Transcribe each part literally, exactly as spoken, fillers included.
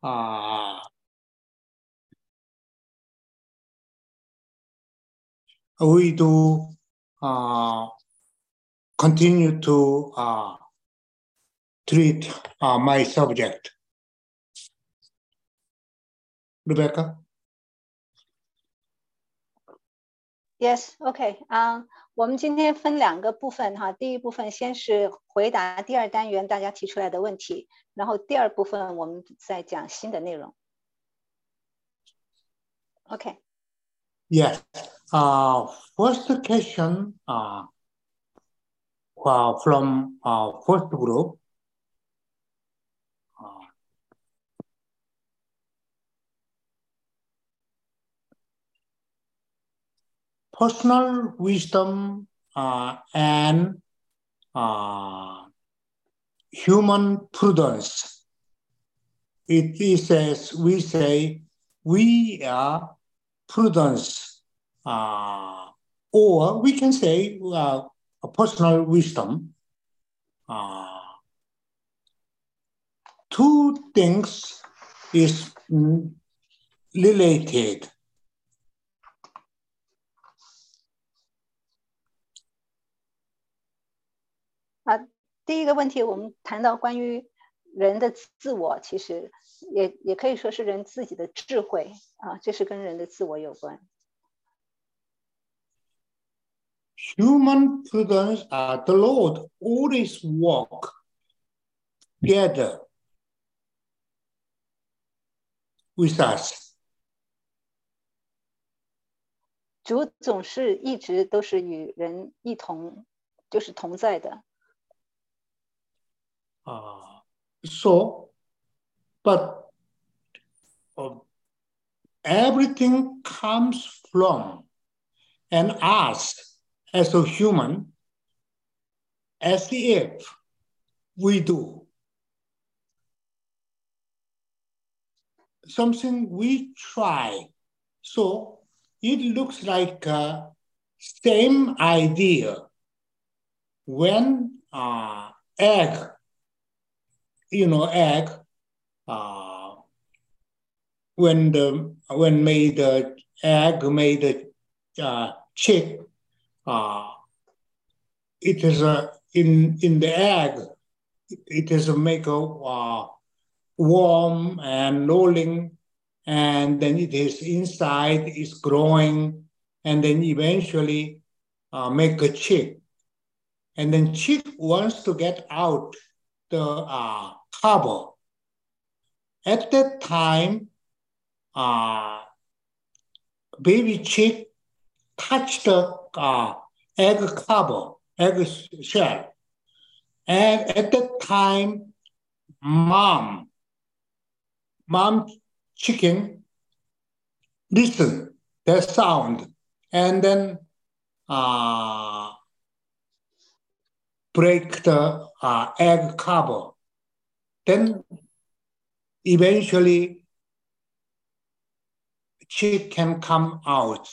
uh, we do uh, continue to uh, treat uh, my subject. Rebecca? Yes, OK 啊、uh, 我们今天分两个部分哈，第一部分先是回答第二单元大家提出来的问题，然后第二部分我们再讲新的内容。OK. Yes. Uh, first question uh, uh, from uh, first group. Uh, personal wisdom uh, and uh, human prudence. It is as we say, we are prudence, uh, or we can say uh, a personal wisdom. Uh, two things is related. Uh, 第一个问题我们谈到关于人的自我，其实也也可以说是人自己的智慧啊，这是跟人的自我有关。 Human prudence, uh, the Lord always walk together with us. 主总是一直都是与人一同，就是同在的。 Uh, so, but uh, everything comes from and us as a human, as if we do something we try. So it looks like uh, same idea when uh, egg, you know, egg, uh, when the when made the egg made the uh, chick, uh, it is a in in the egg, it is a make a uh, warm and rolling, and then it is inside is growing, and then eventually uh, make a chick, and then chick wants to get out the uh, cover. At that time, uh, baby chick touched the uh, egg cover, egg shell, and at that time, mom, mom chicken listen the sound, and then uh, break the uh, egg cover. Then eventually chick can come out.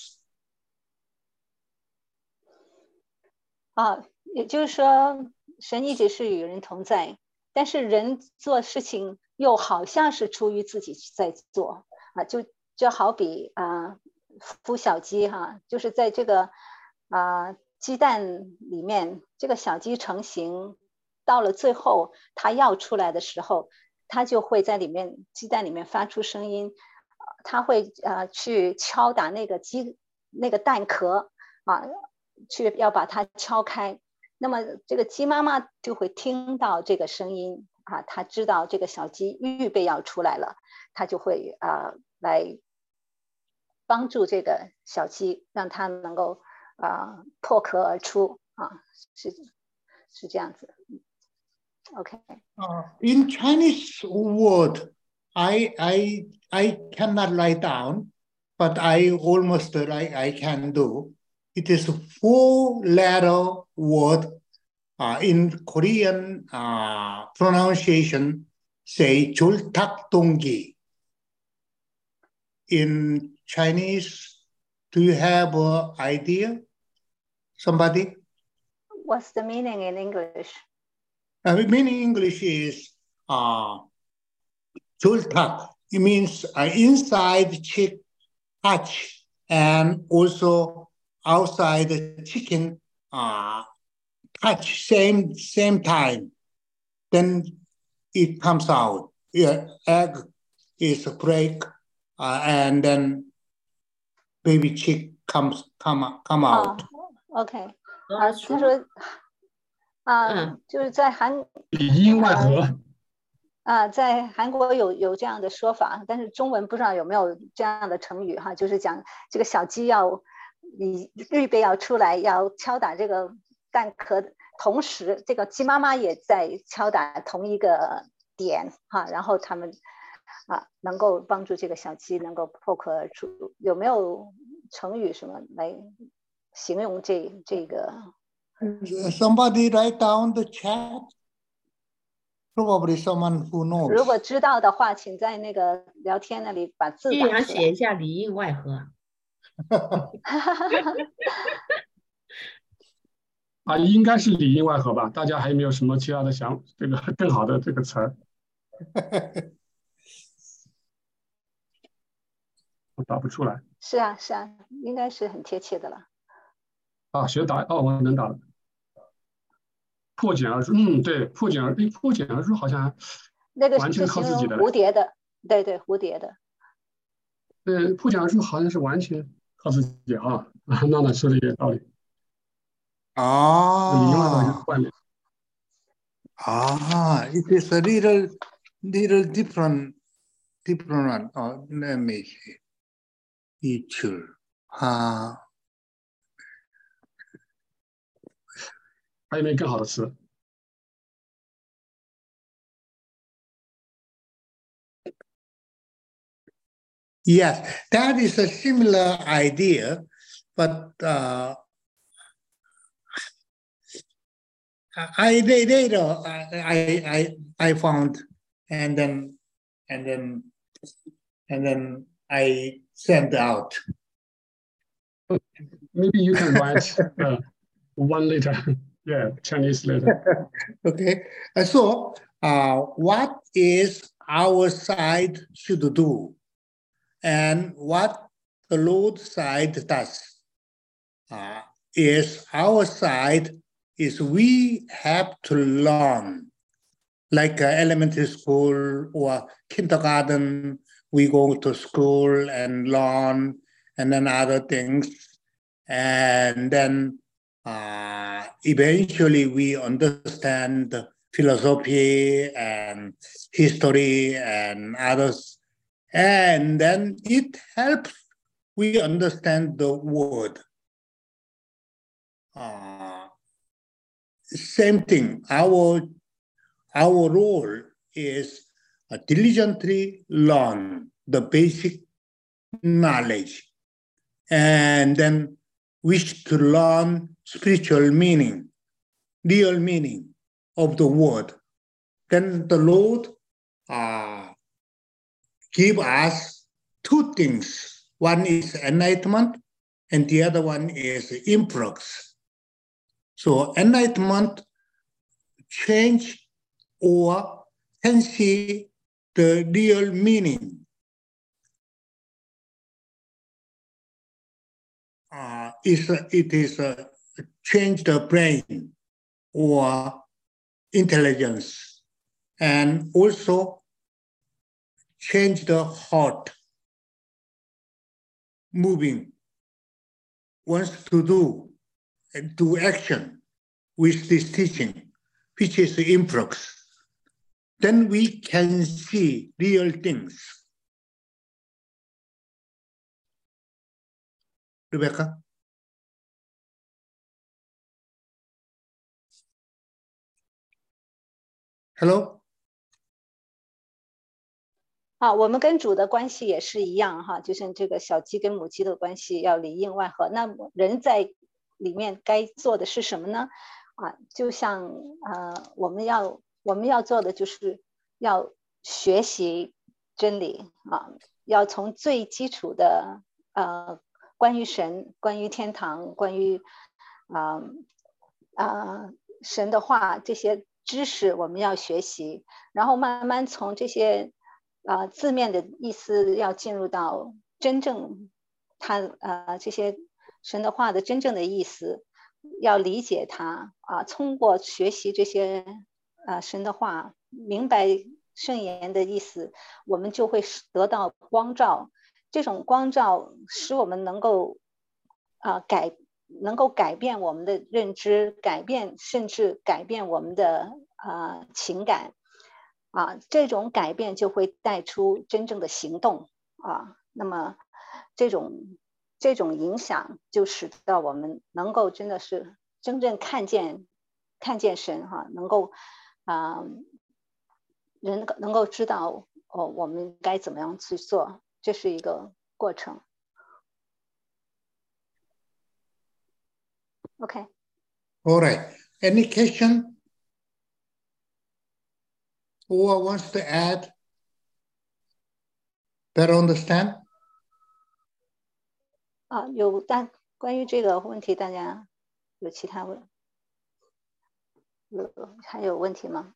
啊，也就是说，神一直是与人同在，但是人做事情又好像是出于自己在做啊，就就好比啊孵小鸡哈，就是在这个啊鸡蛋里面，这个小鸡成型，到了最后它要出来的时候，它就会在里面鸡蛋里面发出声音，它会啊去敲打那个鸡那个蛋壳啊。去要把它敲开，那么这个鸡妈妈就会听到这个声音啊，她知道这个小鸡预备要出来了，她就会啊来帮助这个小鸡，让它能够啊破壳而出啊，是是这样子。OK. Uh, in Chinese word, I I I cannot write down, but I almost like I can do. It is a four-letter word. Uh, in Korean uh, pronunciation, say 졸탁동기. In Chinese, do you have an idea? Somebody? What's the meaning in English? Uh, meaning English is uh, 졸탁. it means uh, inside chick hatch and also outside the chicken uh, hatch same same time. Then it comes out. Yeah, egg is a break, uh, and then baby chick comes come come out. Oh, OK， 啊，他说啊，就是在韩里应外合。 啊，在韩国有有这样的说法，但是中文不知道有没有这样的成语哈，就是讲这个小鸡要你预备要出来，要敲打这个蛋壳，同时这个鸡妈妈也在敲打同一个点哈，然后他们啊能够帮助这个小鸡能够破壳而出。有没有成语什么来形容这这个 ？Somebody write down the chat. Probably someone who knows. 如果知道的话，请在那个聊天那里把字打出来。 写一下里应外合。 啊，应该是里应外合吧？大家还有没有什么其他的想这个更好的这个词儿？我打不出来。 是啊，是啊，应该是很贴切的了。 啊，学打哦，我能打了。破茧而出，嗯，对，破茧而，哎，破茧而出好像那个完全靠自己的。 蝴蝶的，对对，蝴蝶的。 对，破茧而出好像是完全靠自己啊。啊，娜娜说的也有道理。 啊啊 ，it is a little little different different one. Oh, let me see. Teacher 啊， 还有没有更好的词？ Yes, that is a similar idea, but uh, I later I I I found and then and then and then I sent out. Maybe you can write uh, one letter, yeah, Chinese letter. Okay, so uh, what is our side should do, and what the Lord side does uh, is our side is we have to learn, like uh, elementary school or kindergarten, we go to school and learn, and then other things, and then uh, eventually we understand philosophy and history and others, and then it helps we understand the word. Uh, same thing, our our role is uh, diligently learn the basic knowledge and then wish to learn spiritual meaning, real meaning of the word. Then the Lord uh, give us two things. One is enlightenment and the other one is influx. So enlightenment change or can see the real meaning. Uh, is it is uh, change the brain or intelligence, and also change the heart moving, wants to do, do action with this teaching, which is the influx. Then we can see real things. Rebecca? Hello? 啊，我们跟主的关系也是一样哈，就是这个小鸡跟母鸡的关系要里应外合。那人在里面该做的是什么呢？啊，就像呃，我们要我们要做的就是要学习真理啊，要从最基础的呃，关于神、关于天堂、关于啊啊、呃呃、神的话这些知识我们要学习，然后慢慢从这些啊、呃、字面的意思要进入到真正它呃这些神的话的真正的意思，要理解它啊、呃，通过学习这些啊、呃、神的话，明白圣言的意思，我们就会得到光照。这种光照使我们能够啊、呃、改能够改变我们的认知，改变甚至改变我们的啊、呃、情感啊，这种改变就会带出真正的行动啊。那么这种这种影响就使得我们能够真的是真正看见看见神哈、啊，能够啊人能够知道哦我们该怎么样去做，这是一个过程。OK. All right. Any question? Who wants to add? Better understand? 啊，有大关于这个问题，大家有其他问有还有问题吗？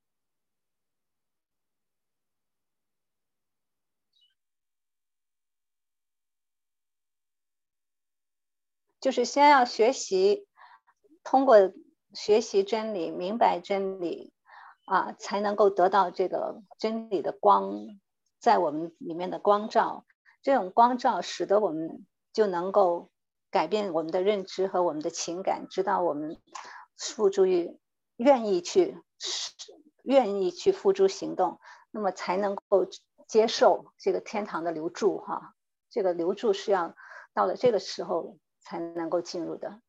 就是先要学习，通过学习真理，明白真理啊，才能够得到这个真理的光在我们里面的光照。这种光照使得我们就能够改变我们的认知和我们的情感，直到我们付诸于愿意去愿意去付诸行动，那么才能够接受这个天堂的流注哈。这个流注是要到了这个时候才能够进入的。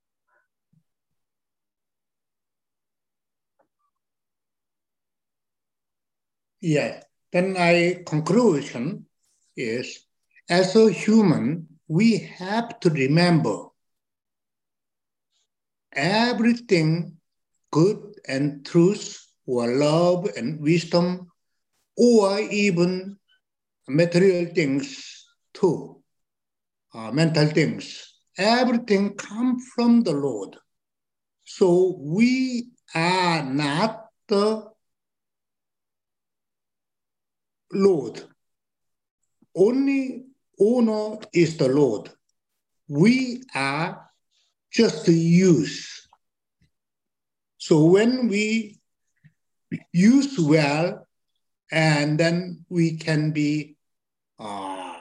Yeah. Then my conclusion is, as a human, we have to remember everything good and truth or love and wisdom or even material things too, uh, mental things. Everything comes from the Lord. So we are not the Lord. Only owner is the Lord. We are just the use. So when we use well, and then we can be uh,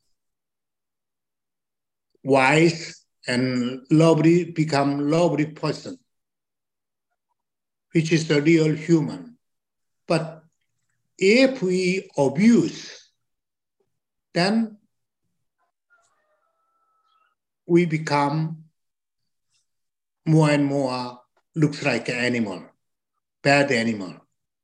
wise and lovely, become lovely person, which is the real human. But if we abuse, then we become more and more looks like an animal, bad animal.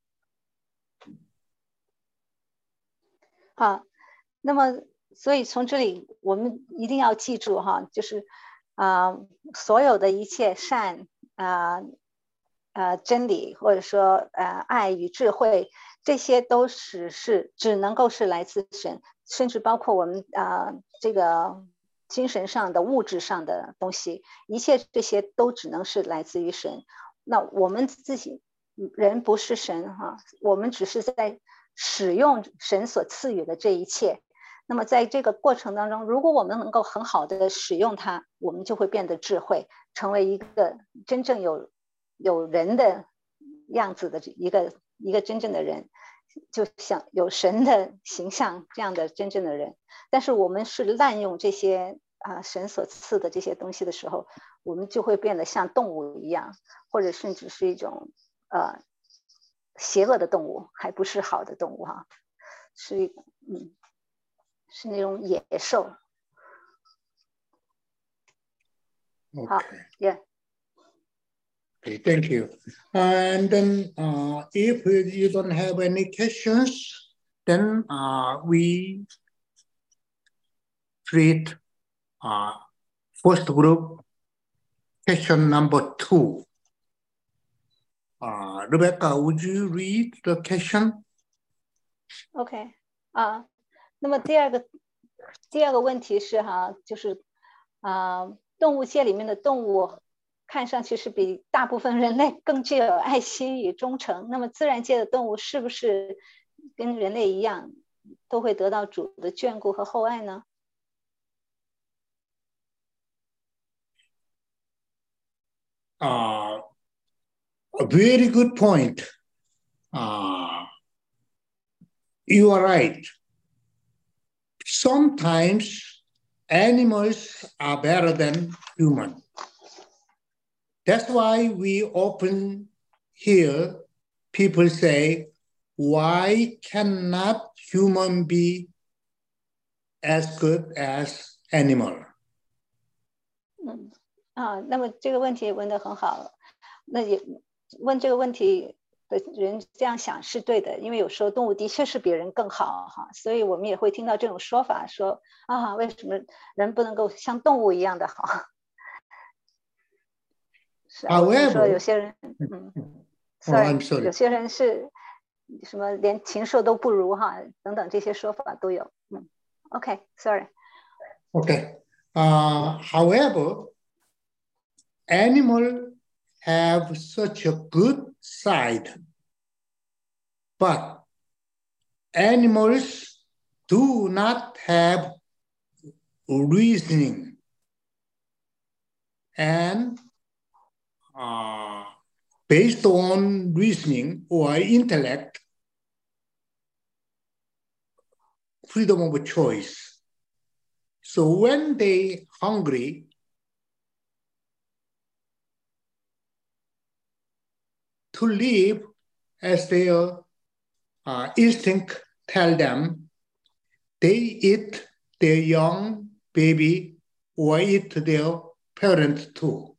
好，那么所以从这里我们一定要记住哈，就是啊、呃，所有的一切善啊呃, 呃真理，或者说呃爱与智慧，这些都是是只能够是来自神，甚至包括我们啊、呃、这个精神上的、物质上的东西，一切这些都只能是来自于神。那我们自己人不是神哈，我们只是在使用神所赐予的这一切。那么在这个过程当中，如果我们能够很好的使用它，我们就会变得智慧，成为一个真正有有人的样子的一个一个真正的人，就像有神的形象这样的真正的人。但是我们是滥用这些啊神所赐的这些东西的时候，我们就会变得像动物一样，或者甚至是一种呃邪恶的动物，还不是好的动物哈，是嗯是那种野兽。好 Okay. ，Yeah. Okay, thank you. And then uh, if you don't have any questions, then uh, we treat uh, first group, question number two. Uh, Rebecca, would you read the question? OK 啊，那么第二个第二个问题是哈，就是啊，动物界里面的动物看上去是比大部分人类更具有爱心与忠诚。那么自然界的动物是不是跟人类一样，都会得到主的眷顾和厚爱呢？ Uh, a very good point. Uh, you are right. Sometimes animals are better than humans. That's why we often hear people say, why cannot human be as good as animal? 嗯啊，那么这个问题问得很好，那也问这个问题的人这样想是对的，因为有时候动物的确是比人更好哈，所以我们也会听到这种说法，说啊，为什么人不能够像动物一样的好？是啊，我说有些人，嗯 ，sorry， 有些人是什么连禽兽都不如哈，等等这些说法都有，嗯 ，OK，sorry。 Okay. Uh, however, animals have such a good side, but animals do not have reasoning. And uh, based on reasoning or intellect, freedom of choice. So when they hungry, to live as their uh, instinct tell them, they eat their young baby or eat their parent too.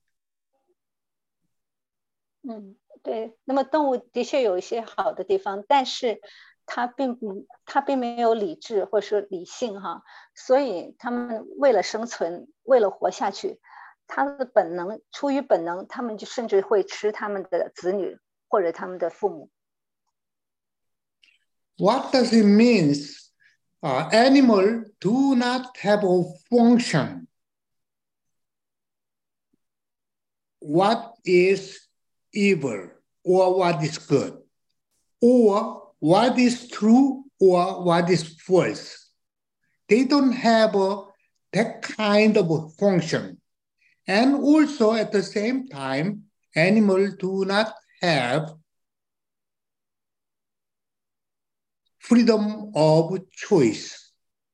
嗯，对。那么动物的确有一些好的地方，但是它并不，它并没有理智或者说理性哈，所以他们为了生存，为了活下去，他的本能，出于本能，他们就甚至会吃他们的子女或者他们的父母。 What does it mean? Uh, animals do not have a function. What is evil or what is good, or what is true or what is false. They don't have a, that kind of a function. And also at the same time, animals do not have freedom of choice.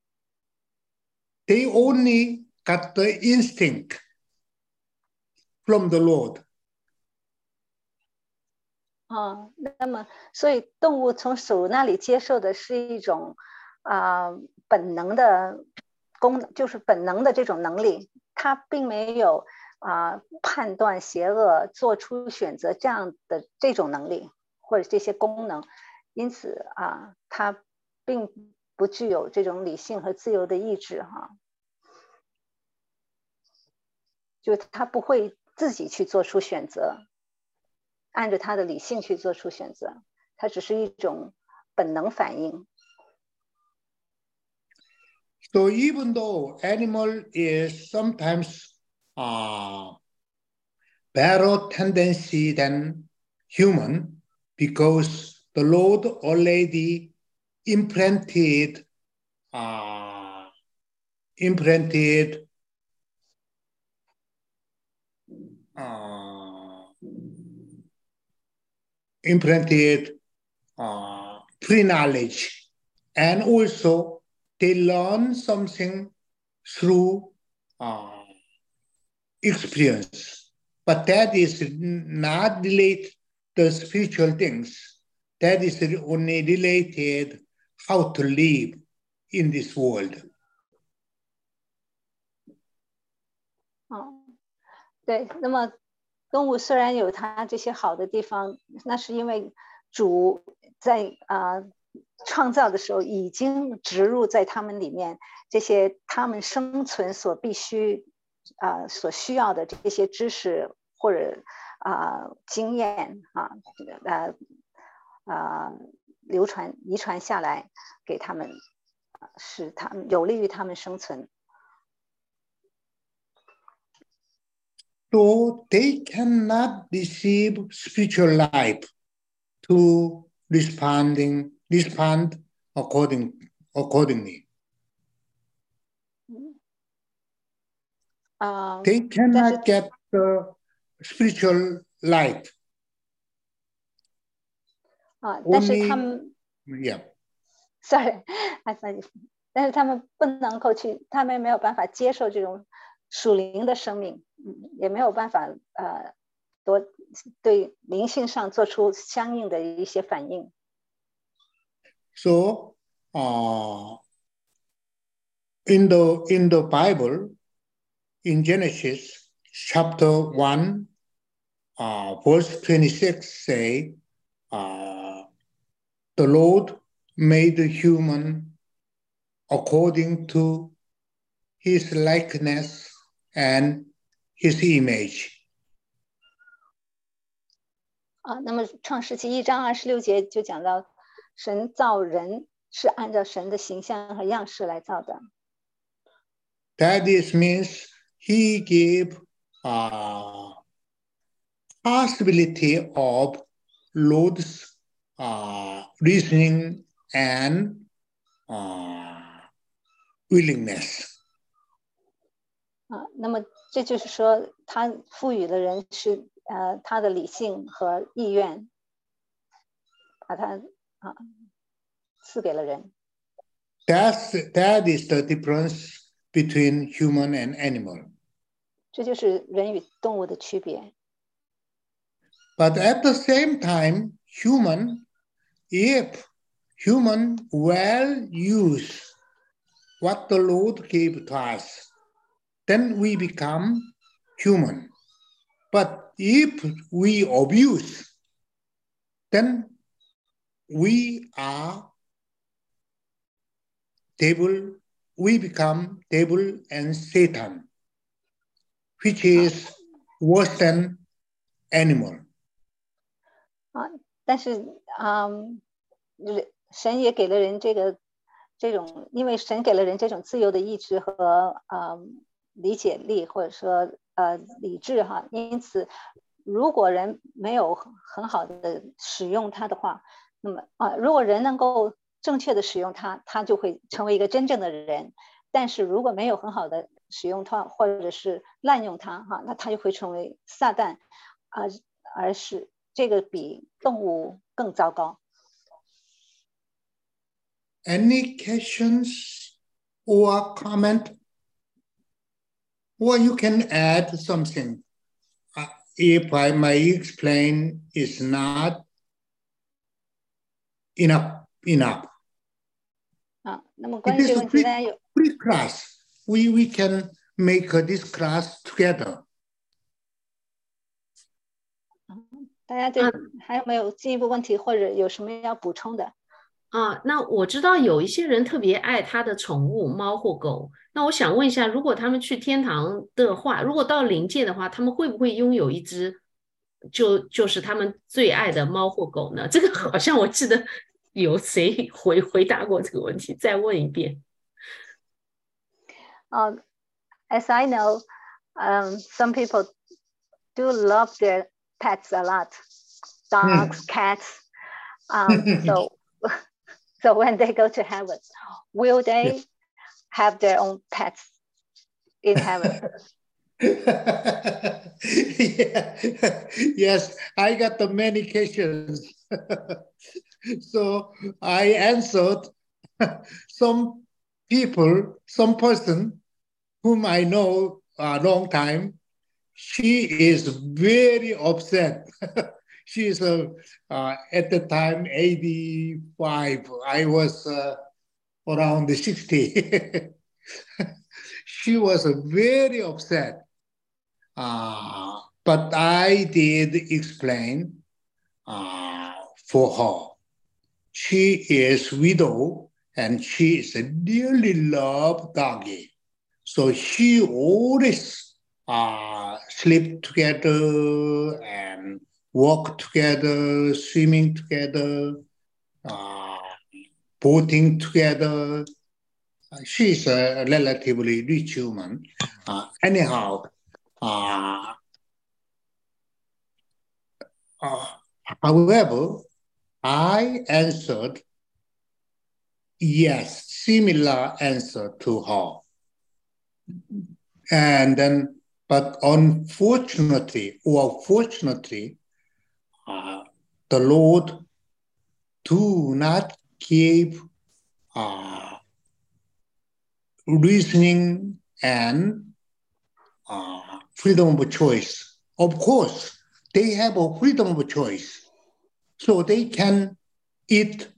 They only got the instinct from the Lord. 啊，那么所以动物从主那里接受的是一种啊、呃、本能的功能，就是本能的这种能力，它并没有啊、呃、判断邪恶、做出选择这样的这种能力或者这些功能，因此啊，它并不具有这种理性和自由的意志哈，就它不会自己去做出选择。按着他的理性去做出选择，它只是一种本能反应。 So even though animal is sometimes uh, better tendency than human, because the Lord already implanted uh, implanted uh, implanted uh, pre-knowledge, and also they learn something through uh, experience. But that is not related to spiritual things. That is only related how to live in this world. 哦，对，那么动物虽然有它这些好的地方，那是因为主在啊、呃、创造的时候已经植入在它们里面这些它们生存所必须啊、呃、所需要的这些知识或者啊、呃、经验啊呃啊、呃、流传遗传下来给他们，使他们有利于他们生存。 So they cannot receive spiritual life to responding respond according accordingly. Um, They cannot get the spiritual light. 啊，但是他 Only, 们 yeah. sorry， I sorry， 但是他们不能够去，他们没有办法接受这种属灵的生命，嗯，也没有办法呃多对灵性上做出相应的一些反应。 So, uh, in the in the Bible, in Genesis chapter one, uh, verse twenty-six, say, uh, the Lord made the human according to his likeness and his image. 啊，那么创世纪一章二十六节就讲到，神造人是按照神的形象和样式来造的。 That is means he gave uh, possibility of Lord's uh, reasoning and uh, willingness. 啊，那么这就是说，他赋予了人是呃他的理性和意愿，把他啊赐给了人。 That's that is the difference between human and animal. 这就是人与动物的区别。 But at the same time, human, if human well use what the Lord gave to us, then we become human. But if we abuse, then we are devil, we become devil and Satan, which is worse than animal. 啊，但是嗯，人神也给了人这个这种，因为神给了人这种自由的意志和呃理解力，或者说呃理智哈，因此如果人没有很好的使用它的话，那么啊，如果人能够正确的使用它，它就会成为一个真正的人。但是如果没有很好的使用它，或者是滥用它哈，那它就会成为撒旦啊，而是这个比动物更糟糕。 Any questions or comment? Or you can add something. Uh, if I may explain, is not enough. Enough. 啊，那么关于 It 这 is 个 a 问题， free, 大家有 free class. We we can make uh, this class together. 大家对还有没有进一步问题，或者有什么要补充的？ 啊，那我知道有一些人特别爱他的宠物猫或狗，那我想问一下，如果他们去天堂的话，如果到灵界的话，他们会不会拥有一只就就是他们最爱的猫或狗呢？这个好像我记得有谁回回答过这个问题，再问一遍。 啊、uh, as I know, um, some people do love their pets a lot, dogs, cats. Um, so, so when they go to heaven, will they have their own pets in heaven? Yeah. Yes, I got the many questions. So I answered some people, some person whom I know a long time. She is very upset. She is uh, uh, at the time eighty-five. I was uh, around sixty. She was uh, very upset. Uh, but I did explain uh, for her. She is widow and she is a dearly loved doggy. So she always uh, sleep together and walk together, swimming together, uh, boating together. Uh, she's a relatively rich woman. Uh, anyhow, uh, uh, however, I answered yes, similar answer to her. And then, but unfortunately or fortunately, uh, the Lord do not give uh, reasoning and uh, freedom of choice. Of course, they have a freedom of choice, so they can eat,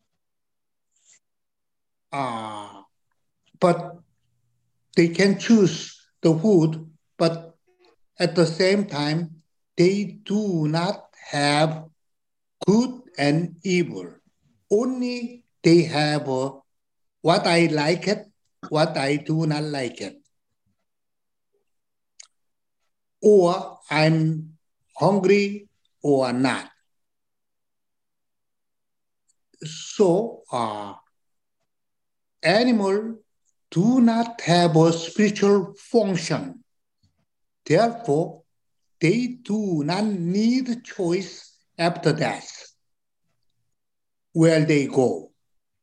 uh, but they can choose the food, but at the same time, they do not have good and evil. Only they have uh, what I like it, what I do not like it. Or I'm hungry or not. So uh, animals do not have a spiritual function. Therefore, they do not need choice after death, where they go.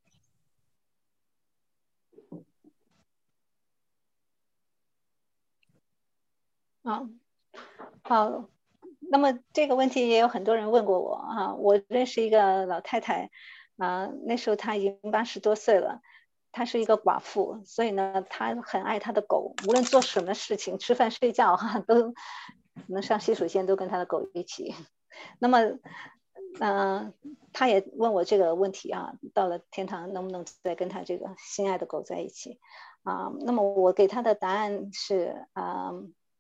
啊，好，那么这个问题也有很多人问过我啊。我认识一个老太太，啊，那时候她已经八十多岁了，她是一个寡妇，所以呢，她很爱她的狗，无论做什么事情，吃饭睡觉哈，都能上洗手间都跟她的狗一起。那么，嗯、呃，她也问我这个问题啊，到了天堂能不能再跟她这个心爱的狗在一起啊？那么我给她的答案是啊。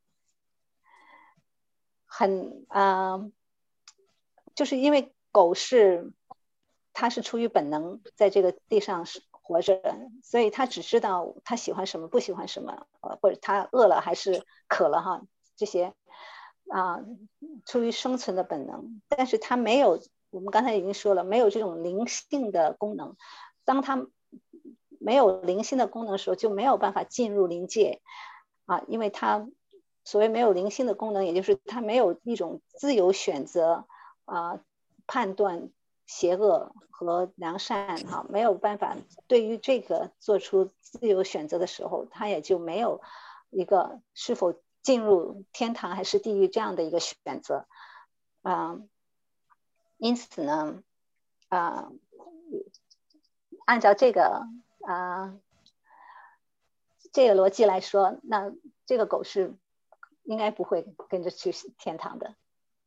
很啊、呃，就是因为狗是它是出于本能在这个地上活着，所以它只知道它喜欢什么不喜欢什么，呃，或者它饿了还是渴了哈，这些啊、呃、出于生存的本能，但是它没有，我们刚才已经说了，没有这种灵性的功能。当它没有灵性的功能的时候，就没有办法进入灵界啊，因为它。所谓没有灵性的功能，也就是它没有一种自由选择啊、呃，判断邪恶和良善哈、啊，没有办法对于这个做出自由选择的时候，它也就没有一个是否进入天堂还是地狱这样的一个选择啊、呃。因此呢，啊、呃，按照这个啊、呃、这个逻辑来说，那这个狗是。应该不会跟着去天堂的。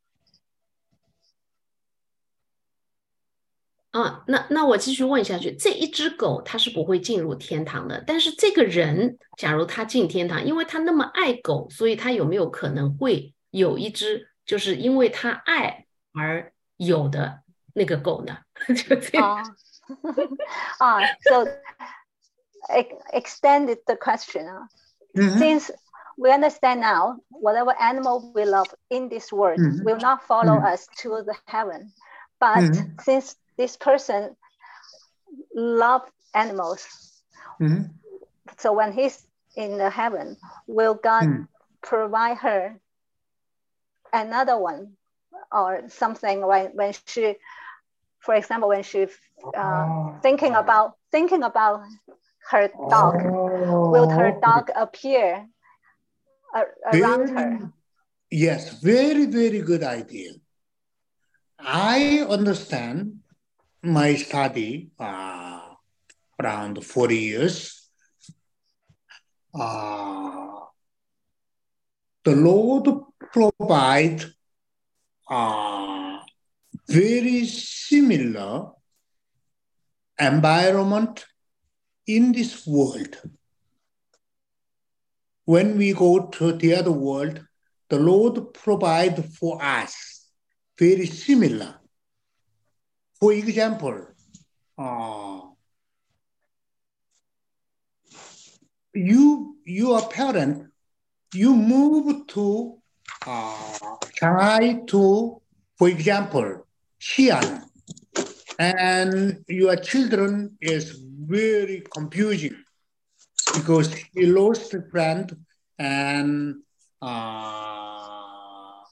啊，那那我继续问下去，这一只狗它是不会进入天堂的，但是这个人，假如他进天堂，因为他那么爱狗，所以他有没有可能会有一只，就是因为他爱而有的那个狗呢？就这样。 啊啊 ，so extended the question 啊、uh, ，since we understand now, whatever animal we love in this world mm-hmm. will not follow mm-hmm. us to the heaven. But mm-hmm. since this person loves animals, mm-hmm. so when he's in the heaven, will God mm-hmm. provide her another one or something when, when she, for example, when she uh, oh. thinking about thinking about her dog, oh, will her dog okay. appear around very, her? Yes, very, very good idea. I understand my study uh, around forty years. Uh, the Lord provide uh, very similar environment in this world. When we go to the other world, the Lord provide for us very similar. For example, uh, you, your parent, you move to uh, Shanghai to, for example, Xi'an, and your children is very confusing because he lost a friend and uh,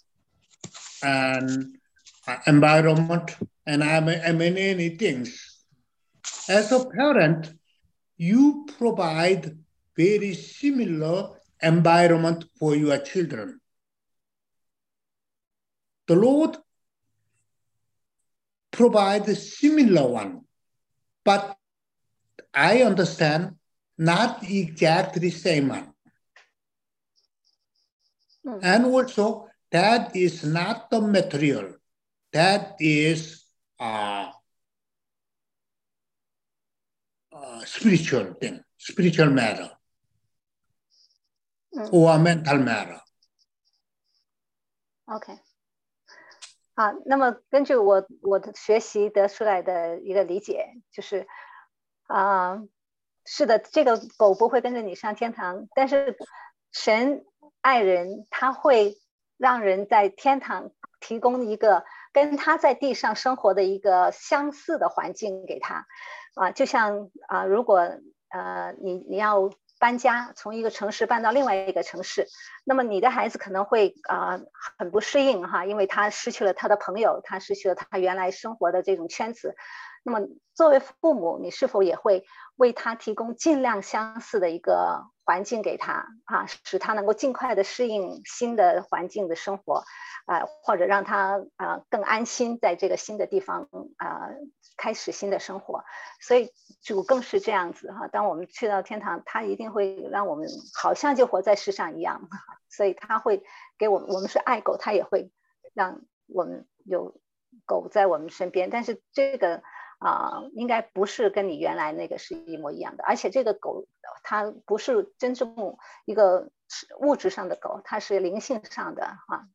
and uh, environment and I mean, I mean many things. as a parent, you provide very similar environment for your children. The Lord provides a similar one, but I understand not exactly same one. Mm. And also, that is not the material. That is uh, uh, spiritual thing, spiritual matter, mm. or mental matter. OK， 啊，那么根据我我的学习得出来的一个理解，就是啊、呃，是的，这个狗不会跟着你上天堂，但是神爱人，他会让人在天堂提供一个跟他在地上生活的一个相似的环境给他，啊，就像啊，如果呃你你要搬家，从一个城市搬到另外一个城市，那么你的孩子可能会啊、呃、很不适应哈，因为他失去了他的朋友，他失去了他原来生活的这种圈子。那么作为父母，你是否也会为他提供尽量相似的一个环境给他啊，使他能够尽快的适应新的环境的生活，啊，或者让他啊更安心在这个新的地方啊开始新的生活。所以主更是这样子哈，当我们去到天堂，他一定会让我们好像就活在世上一样，所以他会给我们，我们是爱狗，他也会让我们有狗在我们身边，但是这个啊、呃，应该不是跟你原来那个是一模一样的，而且这个狗它不是真正一个物质上的狗，它是灵性上的啊。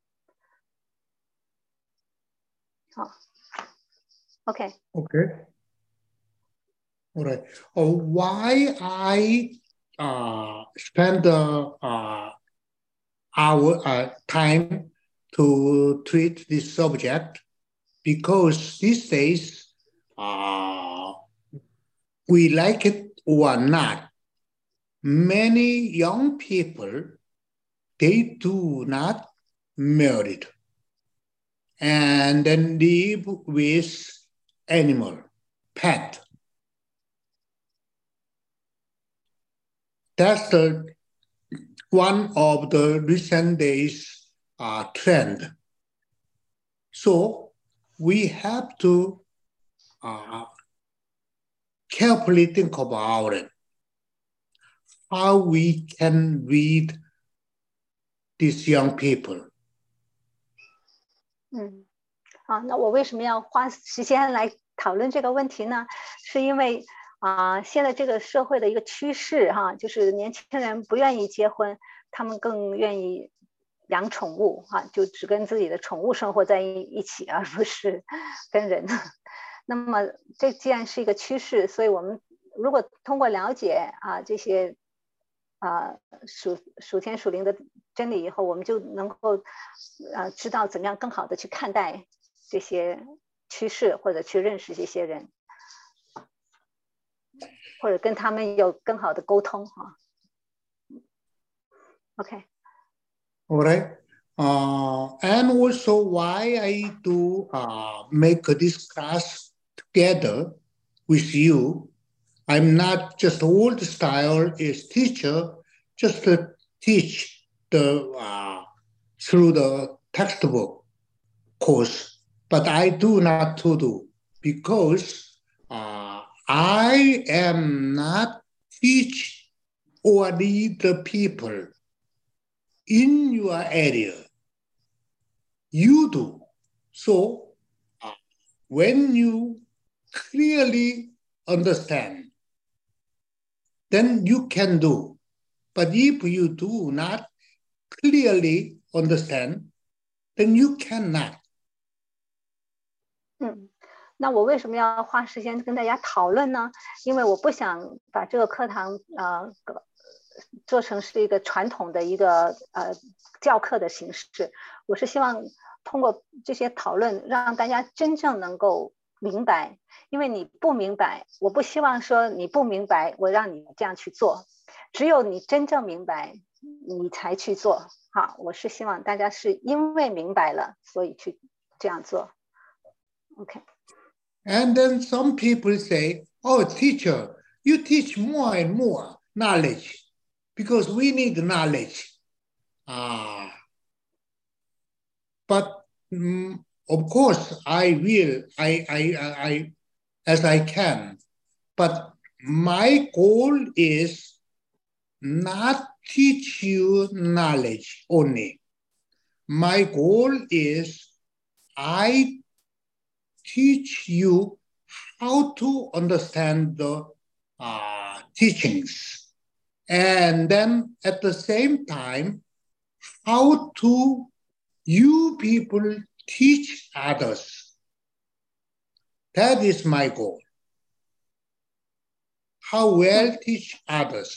好 ，OK。 Okay. All right. Oh, why I uh, spend uh, uh, our uh, time to treat this subject? Because these days, uh, we like it or not, many young people, they do not marry and then live with animal, pet. That's the one of the recent days uh, trend. So we have to uh, carefully think about it, how we can read these young people. 嗯，好，那我为什么要花时间来讨论这个问题呢？是因为啊、呃，现在这个社会的一个趋势哈，就是年轻人不愿意结婚，他们更愿意养宠物哈，就只跟自己的宠物生活在一起，而不是跟人。那么这既然是一个趋势，所以我们如果通过了解啊这些啊属属天属灵的真理以后，我们就能够啊知道怎么样更好的去看待这些趋势，或者去认识这些人，或者跟他们有更好的沟通哈。OK。 All right. Uh, and also why I do uh, make this class together with you. I'm not just old style is teacher, just to teach the uh, through the textbook course, but I do not to do because uh, I am not teach or lead the people in your area. You do. So uh, when you clearly understand, then you can do. But if you do not clearly understand, then you cannot. 嗯，那我为什么要花时间跟大家讨论呢？因为我不想把这个课堂呃做成是一个传统的一个呃教课的形式，我是希望通过这些讨论让大家真正能够明白，因为你不明白，我不希望说你不明白我让你这样去做，只有你真正明白你才去做。好，我是希望大家是因为明白了所以去这样做。OK。 And then some people say, oh, teacher, you teach more and more knowledge because we need knowledge. Ah, but mm, of course, I will, I, I, I, I, as I can. But my goal is not teach you knowledge only. My goal is I teach you how to understand the uh, teachings. And then at the same time, how to you people teach others. That is my goal. How well teach others.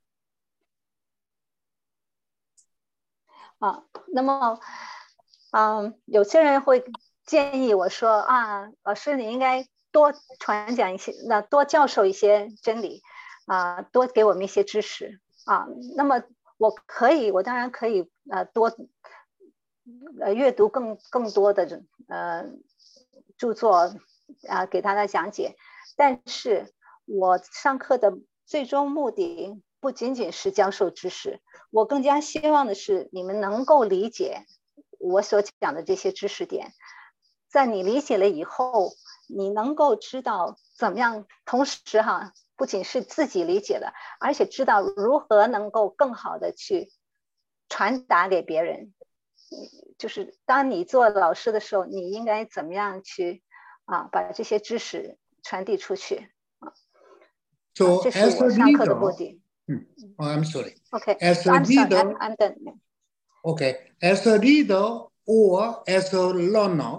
啊，那么，嗯，有些人会建议我说啊，老师你应该多传讲一些，那多教授一些真理，啊，多给我们一些知识啊。那么我可以，我当然可以，呃，多呃阅读更更多的呃著作啊，给大家讲解。但是我上课的最终目的不仅仅是教授知识，我更加希望的是你们能够理解我所讲的这些知识点。在你理解了以后，你能够知道怎么样，同时哈，不仅是自己理解了，而且知道如何能够更好的去传达给别人。就是当你做老师的时候，你应该怎么样去啊把这些知识传递出去啊？ So 这是 as a 我上课的目 leader, 的。 oh, I'm sorry. Okay, As a I'm sorry, leader, I'm, I'm done. okay, as a leader or as a learner,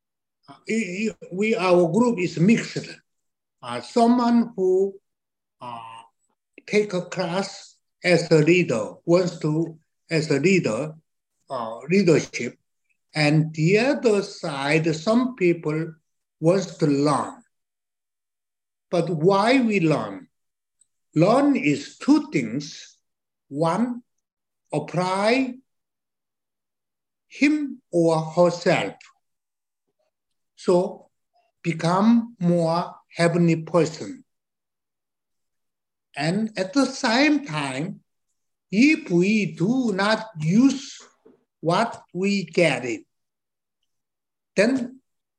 we our group is mixed. Uh, someone who uh, take a class as a leader wants to as a leader uh, leadership, and the other side, some people wants to learn. But why we learn? Learn is two things. One, apply him or herself. So become more heavenly person. And at the same time, if we do not use what we get it, then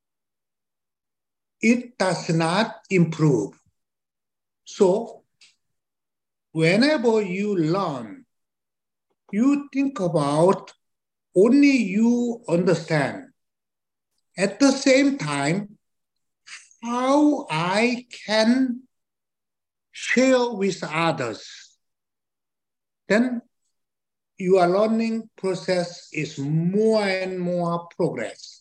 it does not improve. So whenever you learn, you think about only you understand. At the same time, how I can share with others, then your learning process is more and more progress.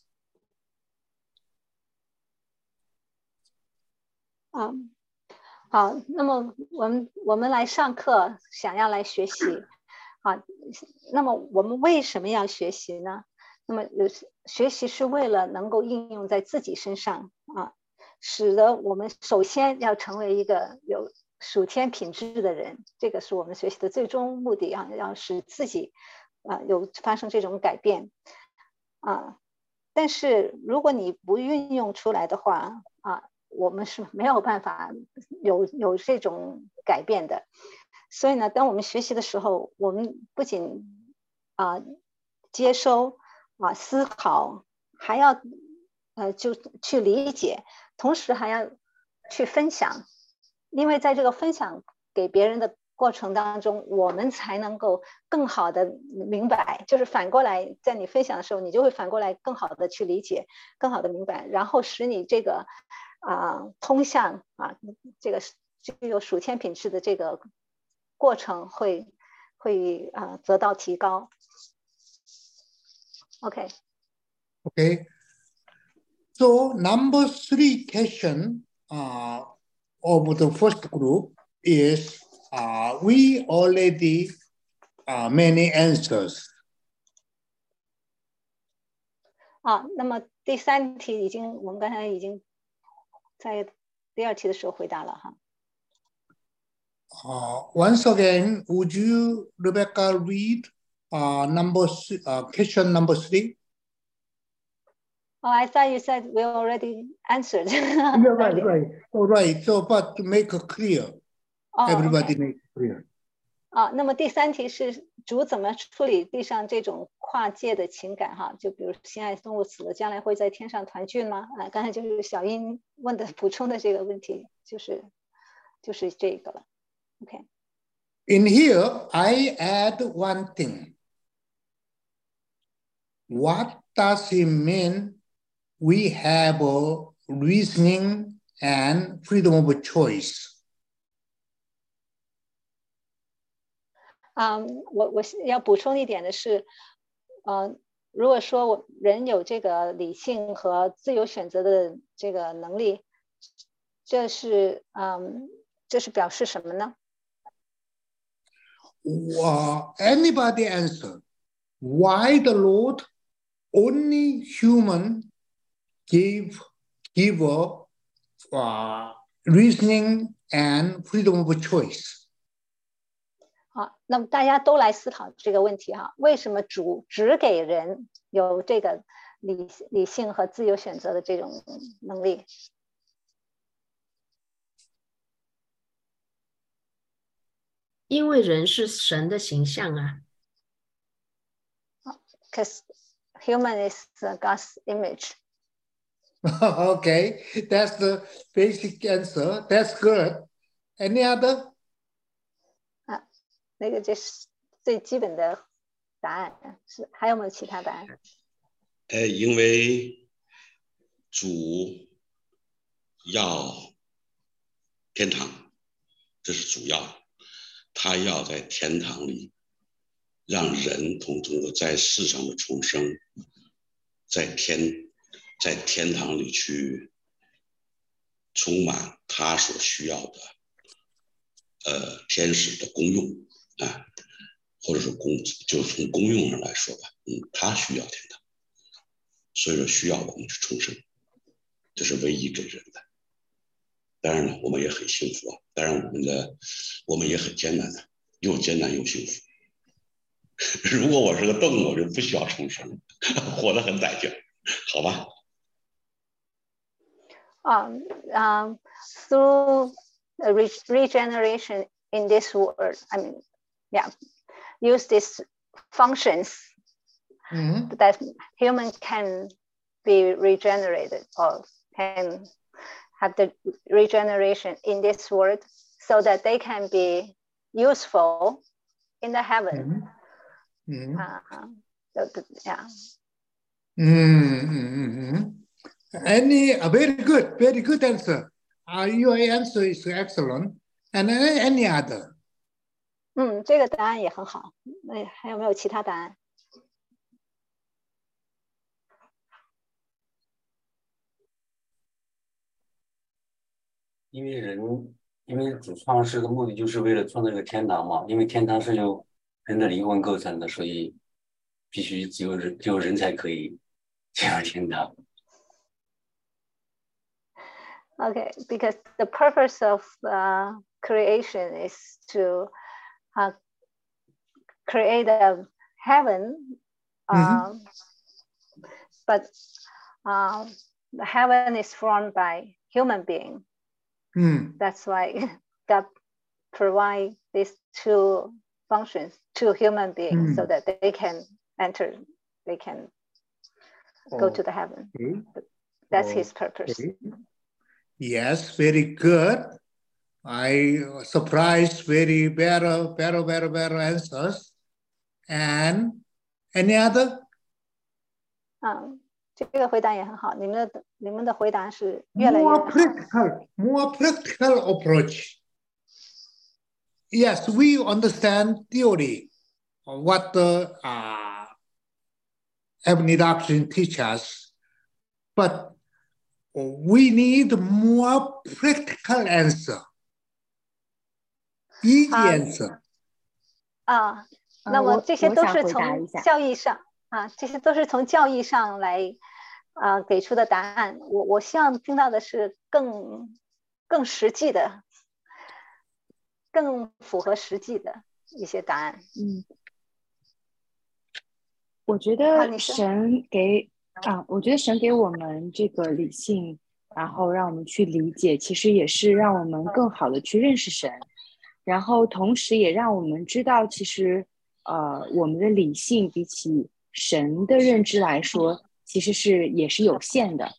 啊，好，那么我们我们来上课，想要来学习，啊，那么我们为什么要学习呢？那么有学习是为了能够应用在自己身上啊，使得我们首先要成为一个有属天品质的人，这个是我们学习的最终目的啊，要使自己啊有发生这种改变啊。但是如果你不运用出来的话啊，我们是没有办法有有这种改变的。所以呢，当我们学习的时候，我们不仅啊接收啊思考，还要呃就去理解，同时还要去分享，因为在这个分享给别人的过程当中，我们才能够更好的明白，就是反过来，在你分享的时候，你就会反过来更好的去理解，更好的明白，然后使你这个啊、呃、通向啊这个具有属天品质的这个过程会会啊、呃、得到提高。OK。 Okay. So number three question uh, of the first group is uh, we already uh, many answers. 啊，那么第三题已经我们刚才已经在第二题的时候回答了哈。 Uh, once again, would you, Rebecca, read uh, number uh, question number three? Oh, I thought you said we already answered. You're right, right. Oh, right. So, but to make it clear, oh, everybody okay. make it clear. 啊，那么第三题是主怎么处理地上这种跨界的情感哈？就比如心爱动物死了，将来会在天上团聚吗？啊，刚才就是小英问的补充的这个问题，就是就是这个了。OK。 In here, I add one thing. What does it mean we have a reasoning and freedom of choice? 啊、um, 我我要补充一点的是，呃，如果说我人有这个理性和自由选择的这个能力，这是嗯，这是表示什么呢？ Uh, anybody answer? Why the Lord only human gave give a uh, reasoning and freedom of choice? 好，那么大家都来思考这个问题哈，为什么主只给人有这个理理性和自由选择的这种能力？ 因为人是神的形象啊。 Because human is God's image. Okay, that's the basic answer. That's good. Any other? 啊，那个就是最基本的答案，是还有没有其他答案？ 呃，因为主要天堂，这是主要，他要在天堂里让人同通过在世上的重生，在天在天堂里去充满他所需要的呃天使的功用啊，或者说功就从功用上来说吧，嗯，他需要天堂，所以说需要我们去重生，这是唯一给人的。当然了，我们也很幸福啊，当然我们的我们也很艰难的，又艰难又幸福。如果我是个动物，我就不需要重生，活得很歹劲，好吧 ？Um, um, through re regeneration in this world, I mean, yeah, use these functions mm-hmm. that human can be regenerated or can have the regeneration in this world so that they can be useful in the heaven. Mm-hmm. Uh, so the, yeah. Mm-hmm. Any uh, very good, very good answer. Uh, your answer is excellent. And any, any other? 嗯，这个答案也很好。那还有没有其他答案？ 因为人，因为主创世的目的就是为了创造这个天堂嘛。因为天堂是由人的灵魂构成的，所以必须只有人，只有人才可以进入天堂。 Okay, because the purpose of uh, creation is to uh, create a heaven, uh, mm-hmm. but uh, the heaven is formed by human being. Mm. That's why God provide these two functions to human beings mm. so that they can enter, they can go oh. to the heaven. Okay. That's oh. his purpose. Okay. Yes, very good. I surprised very better, better, better, better answers. And any other? 嗯，这个回答也很好。你们的你们的回答是越来越好。 More practical, more practical approach. Yes, we understand theory, what the uh, heavenly doctrine teaches us, but we need more practical answer, easy answer. 啊，那么这些都是从教义上啊，这些都是从教义上来啊给出的答案。我我希望听到的是更更实际的、更符合实际的一些答案。 嗯，我觉得神给啊，我觉得神给我们这个理性，然后让我们去理解，其实也是让我们更好的去认识神，然后同时也让我们知道，其实呃，我们的理性比起神的认知来说，其实是也是有限的。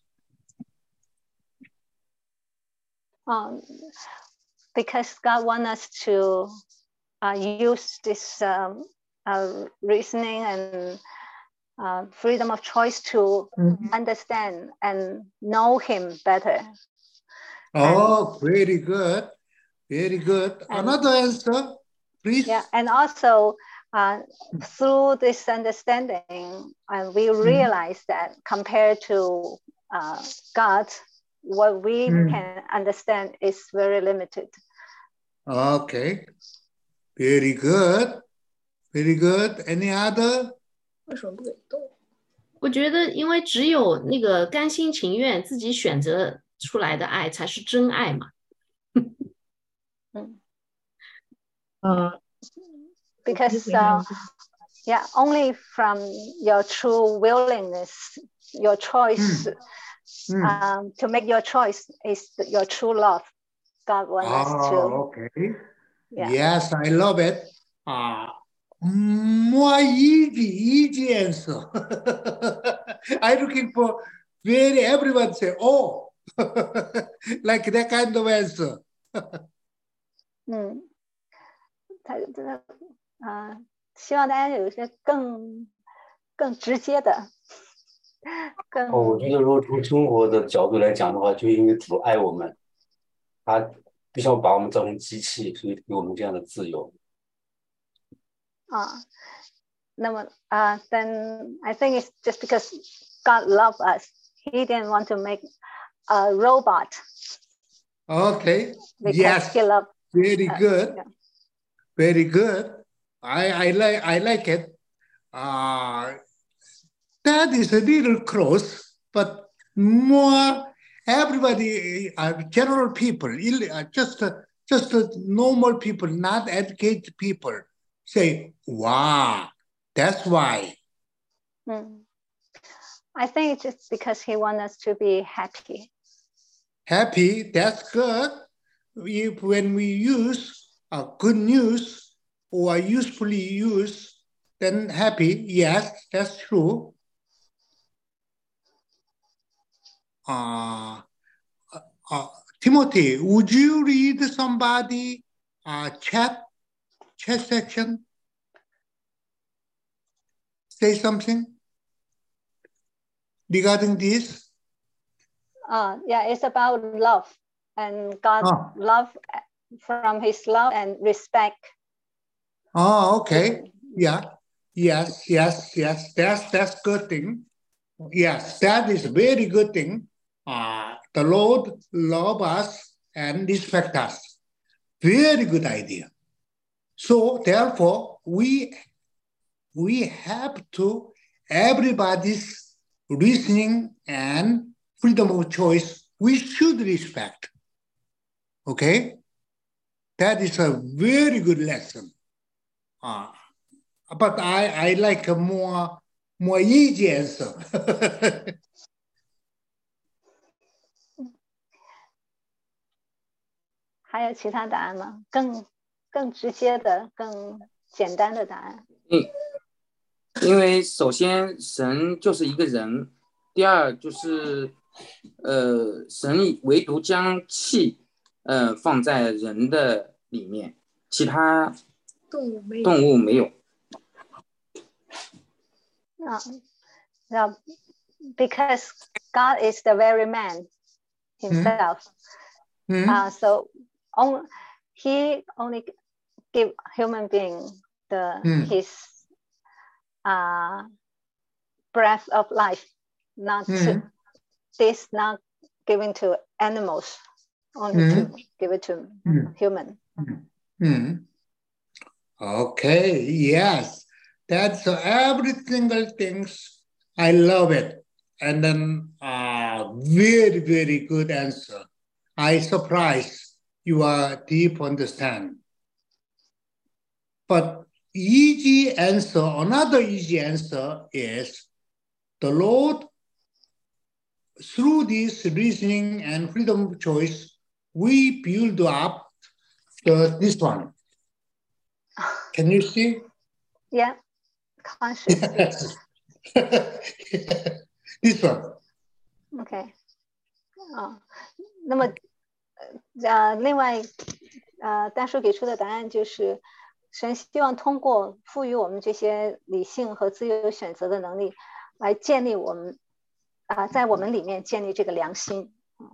Um, because God wants us to uh, use this um, uh, reasoning and uh, freedom of choice to mm-hmm. understand and know Him better. Oh, and, very good. Very good. And, Another answer, please. Yeah, and also uh, through this understanding, uh, we realize mm-hmm. that compared to uh, God, what we mm. can understand is very limited. Okay. Very good. Very good. Any other? 为什么不给动？我觉得，因为只有那个甘心情愿自己选择出来的爱，才是真爱嘛。 嗯。嗯。Because uh, yeah, only from your true willingness, your choice. Mm. Mm. Um, to make your choice is your true love. God wants oh, us to. Okay. Yeah. Yes, I love it. Uh, more easy, easy answer. I'm looking for very everyone say, oh, like that kind of answer. 嗯，他这个啊，希望大家有一些更更直接的。 哦，我觉得如果从生活的角度来讲的话，就因为主爱我们，他不想把我们造成机器，所以给我们这样的自由。 啊，那么啊、uh, ，then I think it's just because God loved us, He didn't want to make a robot. Okay. Yes. He loved Very us. good. Yeah. Very good. I I like I like it. Uh That is a little close, but more everybody, uh, general people, uh, just uh, just uh, normal people, not educated people, say, "Wow, that's why." Mm. I think it's just because He wants us to be happy. Happy, that's good. If when we use uh, good news or usefully use, then happy. Yes, that's true. Uh, uh, Timothy, would you read somebody uh, chat chat section? Say something regarding this. Uh, yeah, it's about love and God oh. love from His love and respect. Oh, okay. Yeah. Yes. Yes. Yes. That's that's good thing. Yes, that is a very good thing. Uh, the Lord love us and respect us. Very good idea. So therefore, we we have to everybody's reasoning and freedom of choice. We should respect. Okay, that is a very good lesson. Uh, but I I like a more more easy answer. 还有其他答案吗？更更直接的、更简单的答案。 嗯，因为首先神就是一个人，第二就是呃，神唯独将气呃放在人的里面，其他动物没有。动物没有。 啊，那 because God is the very man himself. Mm-hmm. Uh, so on, he only give human being the mm. his uh, breath of life, not mm. to, this not given to animals, only mm. to give it to mm. human. Mm. Okay, yes, that's uh, every single things. I love it, and then uh, very very good answer. I surprised your deep understand. But easy answer, another easy answer is the Lord through this reasoning and freedom of choice, we build up the, this one. Can you see? Yeah, conscious. Yes. This one. OK， 啊，那么呃，另外呃，大叔给出的答案就是，神希望通过赋予我们这些理性和自由选择的能力，来建立我们啊、呃，在我们里面建立这个良心。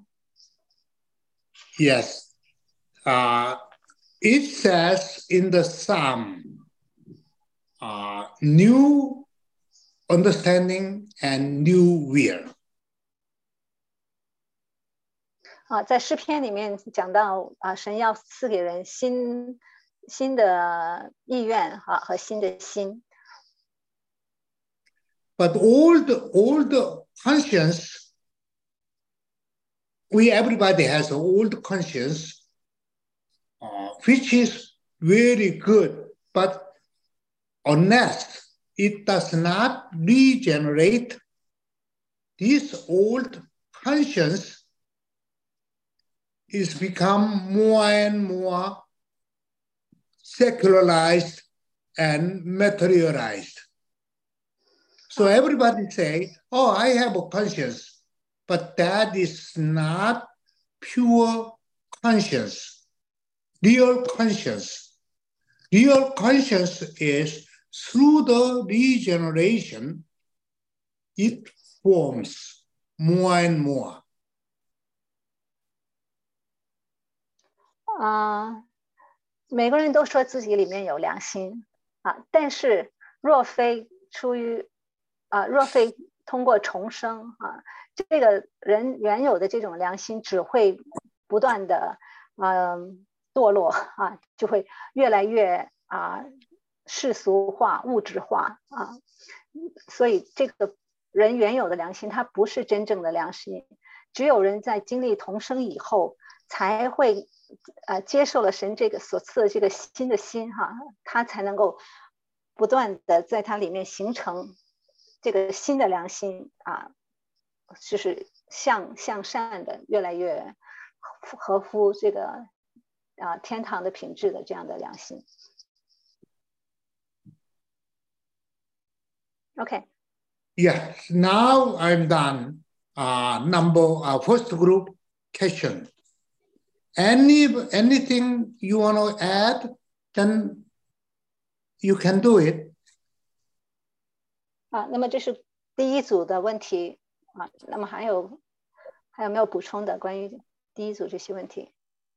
Yes. Uh, it says in the Psalm, uh, new understanding and new will. 啊，在诗篇里面讲到啊，神要赐给人新新的意愿啊和新的心。 But old old conscience, we everybody has an old conscience, uh, which is very good, but unless it does not regenerate, this old conscience is become more and more secularized and materialized. So everybody say, oh, I have a conscience, but that is not pure conscience, real conscience. Real conscience is through the regeneration, it forms more and more. 啊、呃，每个人都说自己里面有良心啊，但是若非出于啊，若非通过重生啊，这个人原有的这种良心只会不断的嗯、呃、堕落啊，就会越来越啊世俗化、物质化啊，所以这个人原有的良心，它不是真正的良心，只有人在经历重生以后，才会呃接受了神这个所赐的这个新的心哈，他才能够不断的在它里面形成这个新的良心啊，就是向向善的，越来越合乎这个啊天堂的品质的这样的良心。OK。 Yes, now I'm done. Uh, number uh, first group question. Any anything you want to add, then you can do it. 啊，那么这是第一组的问题啊，那么还有还有没有补充的关于第一组这些问题？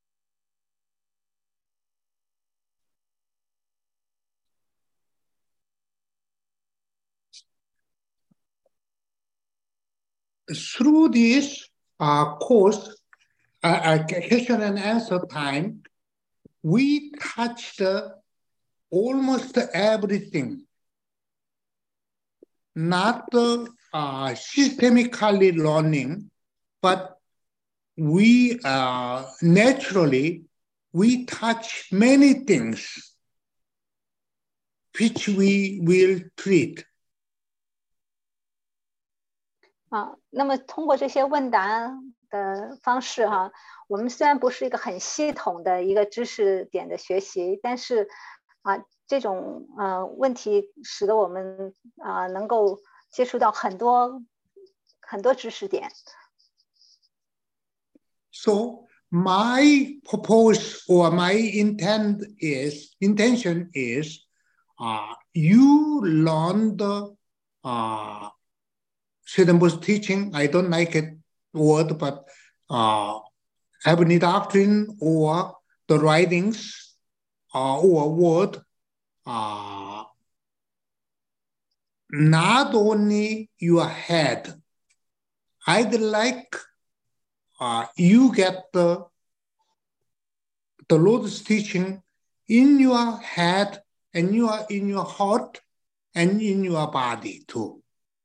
Through this uh, course, uh, question and answer time, we touched uh, almost everything. Not uh, uh, systemically learning, but we uh, naturally, we touch many things which we will treat. 啊，那么通过这些问答的方式哈，我们虽然不是一个很系统的一个知识点的学习，但是啊，这种呃问题使得我们啊能够接触到很多很多知识点。 So my purpose or my intent is intention is, uh, you learn the uh, Swedenborg's teaching. I don't like it word, but uh, heavenly doctrine or the writings uh, or word, uh, not only your head. I'd like uh, you get the, the Lord's teaching in your head and you are in your heart and in your body too.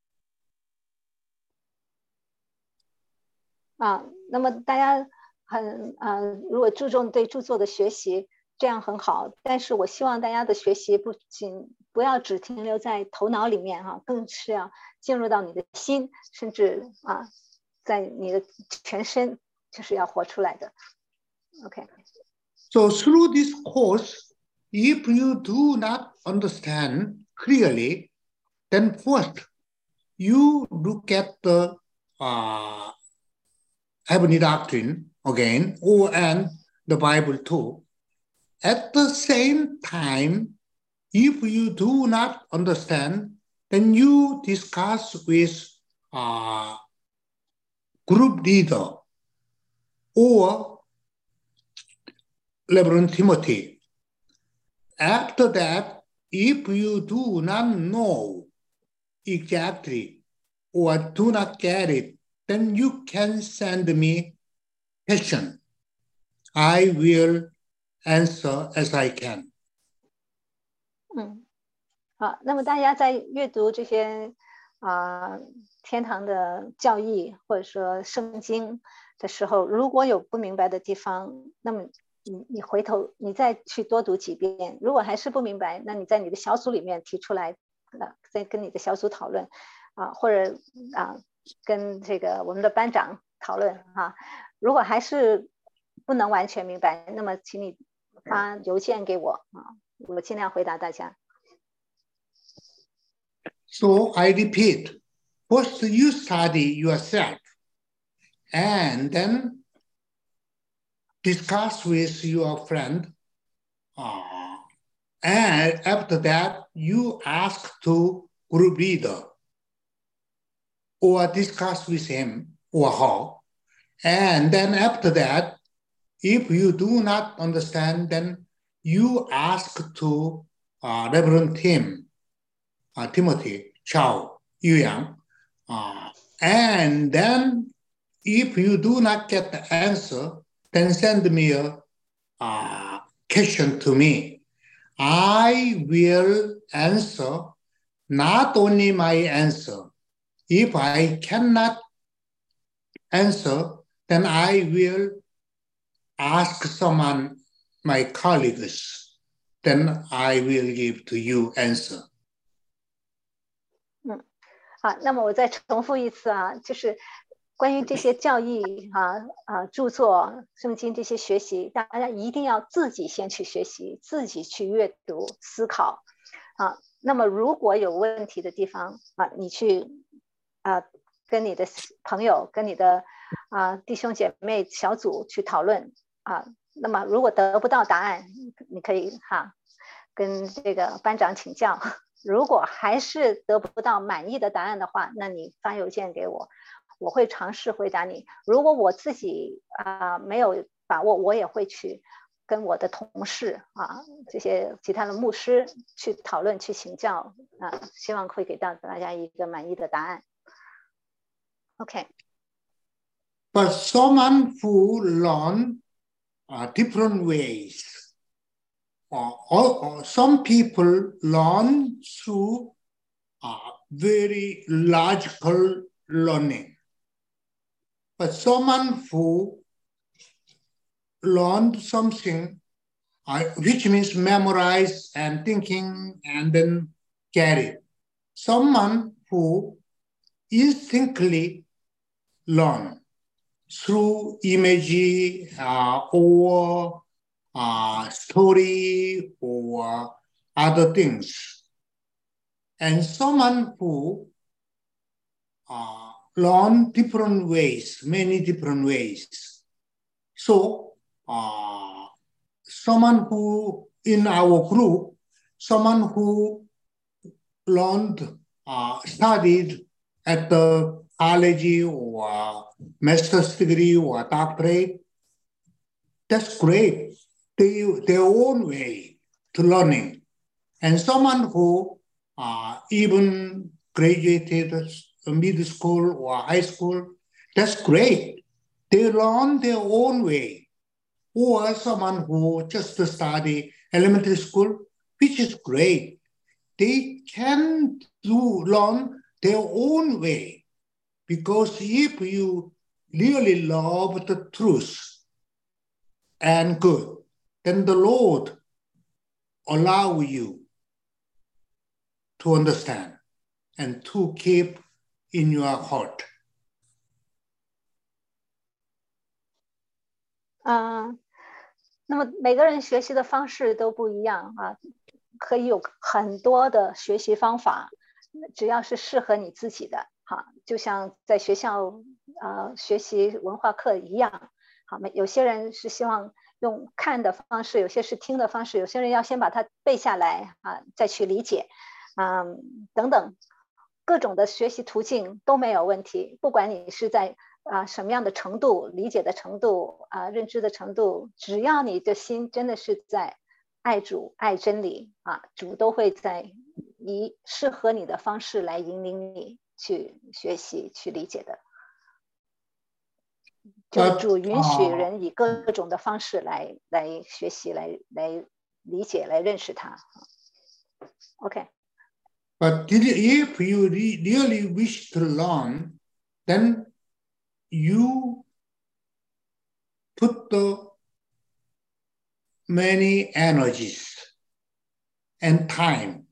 啊，那么大家很呃，如果注重对著作的学习，这样很好。但是我希望大家的学习不仅不要只停留在头脑里面哈、啊，更是要进入到你的心，甚至啊在你的全身就是要活出来的。OK。 So through this course, if you do not understand clearly, then first you look at the uh, heavenly doctrine again, or and the Bible too. At the same time, if you do not understand, then you discuss with uh, group leader or Reverend Timothy. After that, if you do not know exactly or do not get it, then you can send me question. I will answer as I can. 嗯，好，那么大家在阅读这些啊、呃、天堂的教义或者说圣经的时候，如果有不明白的地方，那么你你回头你再去多读几遍，如果还是不明白，那你在你的小组里面提出来，呃，再跟你的小组讨论啊、呃，或者啊、呃、跟这个我们的班长讨论啊。如果还是不能完全明白，那么请你发邮件给我啊，我尽量回答大家。 So I repeat, first you study yourself and then discuss with your friend. Uh, and after that, you ask to group leader or discuss with him or her. And then after that, if you do not understand, then you ask to uh, Reverend Tim, uh, Timothy, Chow, Yu Yang. Uh, and then if you do not get the answer, then send me a uh, question to me. I will answer not only my answer. If I cannot answer, then I will ask someone, my colleagues, then I will give to you answer. 嗯，好，那么我再重复一次啊，就是关于这些教义啊啊著作、圣经这些学习，大家一定要自己先去学习，自己去阅读、思考啊。那么如果有问题的地方啊，你去啊跟你的朋友、跟你的啊弟兄姐妹小组去讨论啊。那么如果得不到答案，你可以哈跟这个班长请教。如果还是得不到满意的答案的话，那你发邮件给我，我会尝试回答你。如果我自己啊、呃、没有把握，我也会去跟我的同事啊这些其他的牧师去讨论、去请教啊、呃，希望会给到大家一个满意的答案。OK。 But someone who learn uh, different ways. Uh, or, or some people learn through uh, very logical learning. But someone who learned something, uh, which means memorize and thinking and then get it. Someone who instinctively learn through image uh, or uh, story or other things. And someone who uh, learn different ways, many different ways. So uh, someone who in our group, someone who learned, uh, studied at the college or master's degree or doctorate, that's great. They, their own way to learning. And someone who uh, even graduated middle school or high school, that's great. They learn their own way. Or someone who just study elementary school, which is great. They can do learn their own way. Because if you really love the truth and good, then the Lord allow you to understand and to keep in your heart. 啊、呃，那么每个人学习的方式都不一样啊，可以有很多的学习方法，只要是适合你自己的，哈，就像在学校呃学习文化课一样，好，有些人是希望用看的方式，有些是听的方式，有些人要先把它背下来啊，再去理解，嗯，等等，各种的学习途径都没有问题，不管你是在啊什么样的程度，理解的程度啊，认知的程度，只要你的心真的是在爱主、爱真理啊，主都会在以适合你的方式来引领你去学习、去理解的。就主允许人以各种的方式来来学习、来来理解、来认识它。OK。 But if you really wish to learn, then you put the many energies and time.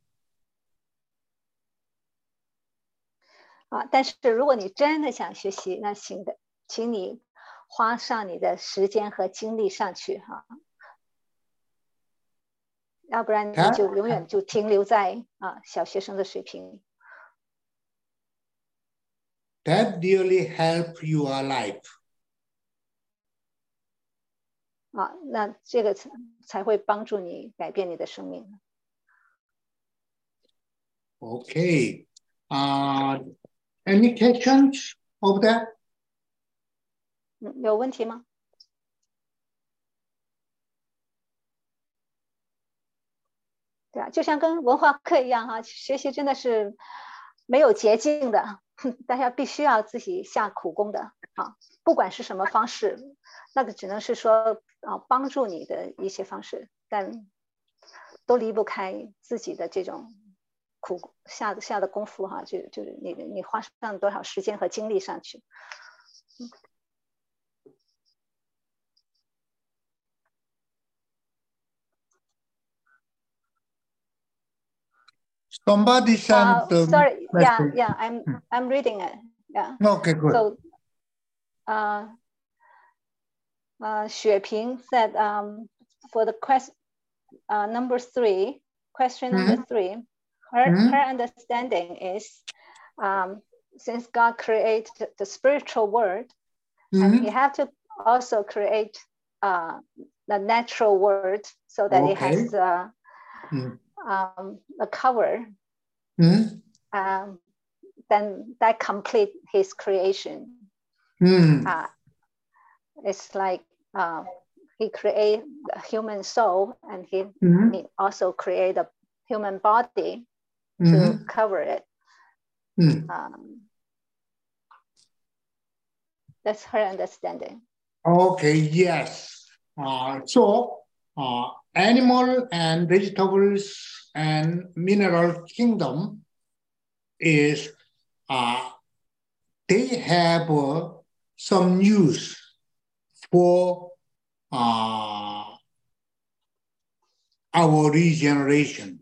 啊，但是如果你真的想学习，那请的，请你花上你的时间和精力上去哈。要不然你就永远就停留在啊小学生的水平。 That really help your life. 啊，那这个才才会帮助你改变你的生命。 Okay. Uh, any questions of that? 嗯，有问题吗？对啊，就像跟文化课一样哈，学习真的是没有捷径的，大家必须要自己下苦功的啊。不管是什么方式，那个只能是说啊帮助你的一些方式，但都离不开自己的这种苦下的下的功夫哈，就就是你你花上多少时间和精力上去。嗯 Somebody sent uh, sorry, the yeah, message. yeah, I'm I'm reading it. Yeah. Okay, good. So, uh, uh, Xue Ping said, um, for the quest, uh, number three, question number mm-hmm. three, her mm-hmm. her understanding is, um, since God created the spiritual world, mm-hmm. and He had to also create uh, the natural world so that okay. it has uh, mm-hmm. um, a cover. Mm-hmm. Um, then that complete His creation. Mm-hmm. Uh, it's like uh, He create a human soul, and He, mm-hmm. he also create a human body mm-hmm. to cover it. Mm-hmm. Um, that's her understanding. Okay, yes. Uh, so uh, animal and vegetables and mineral kingdom is uh, they have uh, some use for uh, our regeneration.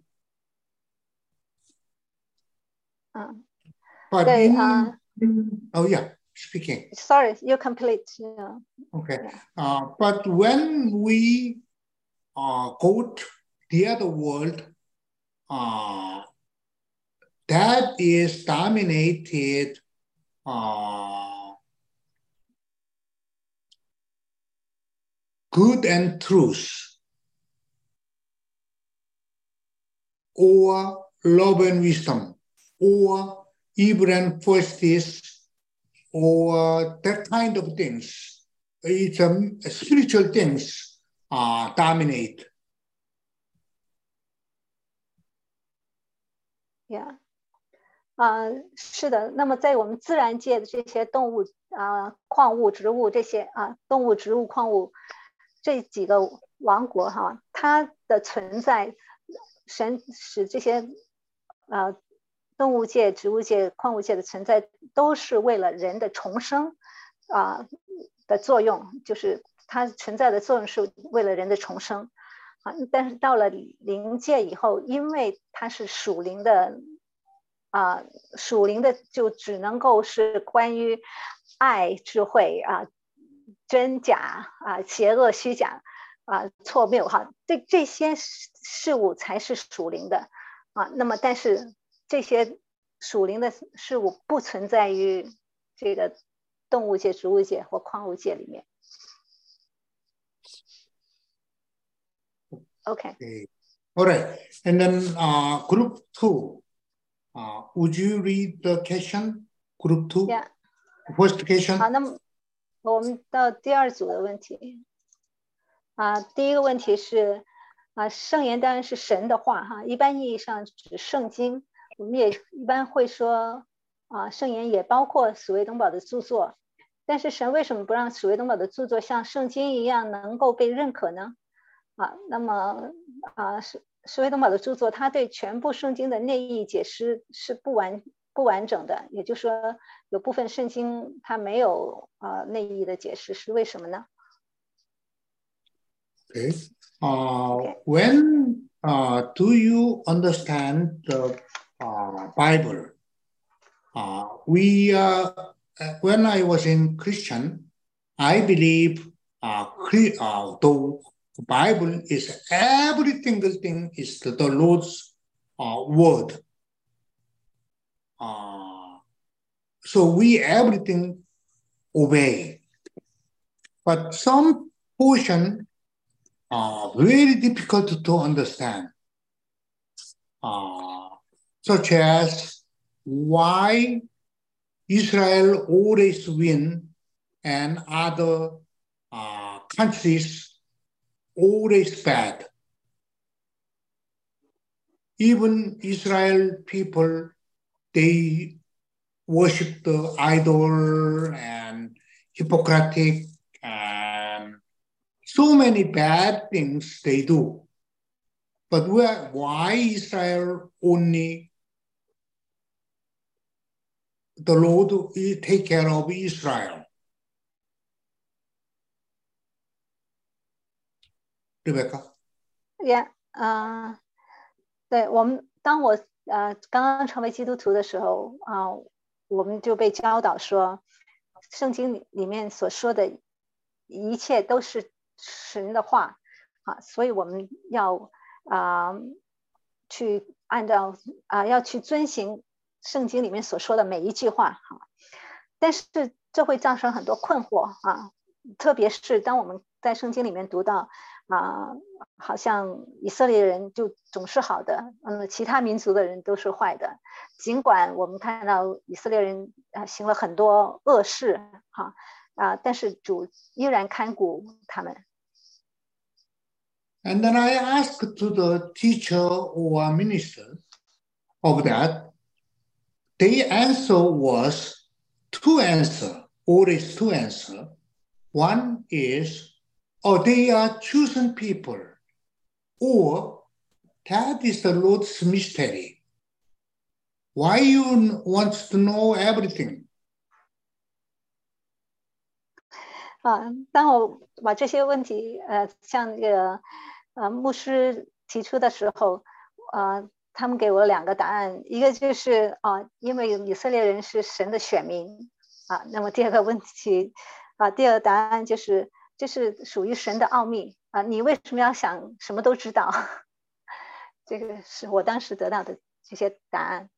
Uh, but they, in, uh, oh yeah, speaking. Sorry, you complete. Yeah. Okay, yeah. uh, but when we uh, go to the other world, uh, that is dominated uh, good and truth, or love and wisdom, or evil and justice, or that kind of things. It's um, spiritual things uh, dominate. Yeah. 啊、呃，是的。那么在我们自然界的这些动物啊、呃、矿物、植物这些啊、呃、动物、植物、矿物这几个王国哈，它的存在，神使这些呃动物界、植物界、矿物界的存在，都是为了人的重生啊、呃、的作用，就是它存在的作用是为了人的重生啊。但是到了灵界以后，因为它是属灵的。啊、呃，属灵的就只能够是关于爱、智慧啊、 真假啊、邪恶虚假啊、错谬哈，这这些事物才是属灵的啊。那么，但是这些属灵的事物不存在于这个动物界、植物界或矿物界里面。OK. Okay. All right. And then uh, group two. Uh, would you read the question? Group two. Yeah. First question. 好，那么我们到第二组的问题啊。第一个问题是啊，圣言当然是神的话哈，一般意义上指圣经。我们也一般会说啊，圣言也包括史威登堡的著作。但是神为什么不让史威登堡的著作像圣经一样能够被认可呢？啊，那么啊，史史威登堡的著作，他对全部圣经的内意解释是不完不完整的，也就是说，有部分圣经它没有啊内意的解释，是为什么呢 Okay. Uh, Okay. When uh, do you understand the uh, Bible? Uh, we uh, when I was in Christian, I believe uh, cre- uh, the Bible is every single thing is the, the Lord's uh, word. Uh, so we everything obey, but some portion are very difficult to understand, uh, such as why Israel always win and other uh, countries always bad. Even Israel people, they worship the idol and hypocritic and so many bad things they do. But where, why Israel only the Lord will take care of Israel? Rebecca? Yeah, 啊、uh, 对我们，当我呃刚刚成为基督徒的时候啊、呃，我们就被教导说，圣经里面所说的一切都是神的话啊，所以我们要啊、呃、去按照啊、呃、要去遵行圣经里面所说的每一句话哈、啊，但是这会造成很多困惑啊，特别是当我们在圣经里面读到啊、呃，好像以色列人就总是好的，嗯，其他民族的人都是坏的。尽管我们看到以色列人啊行了很多恶事，哈啊，但是主依然看顾他们。 And then I asked to the teacher or minister of that. The answer was two answer, always two answer. One is, oh, they are chosen people, or that is the Lord's mystery. Why you want to know everything? 啊，当我把这些问题呃向这个呃牧师提出的时候，呃，他们给我两个答案，一个就是啊，因为以色列人是神的选民啊，那么第二个问题啊，第二个答案就是这是属于神的奥秘啊，你为什么要想什么都知道？这个是我当时得到的这些答案。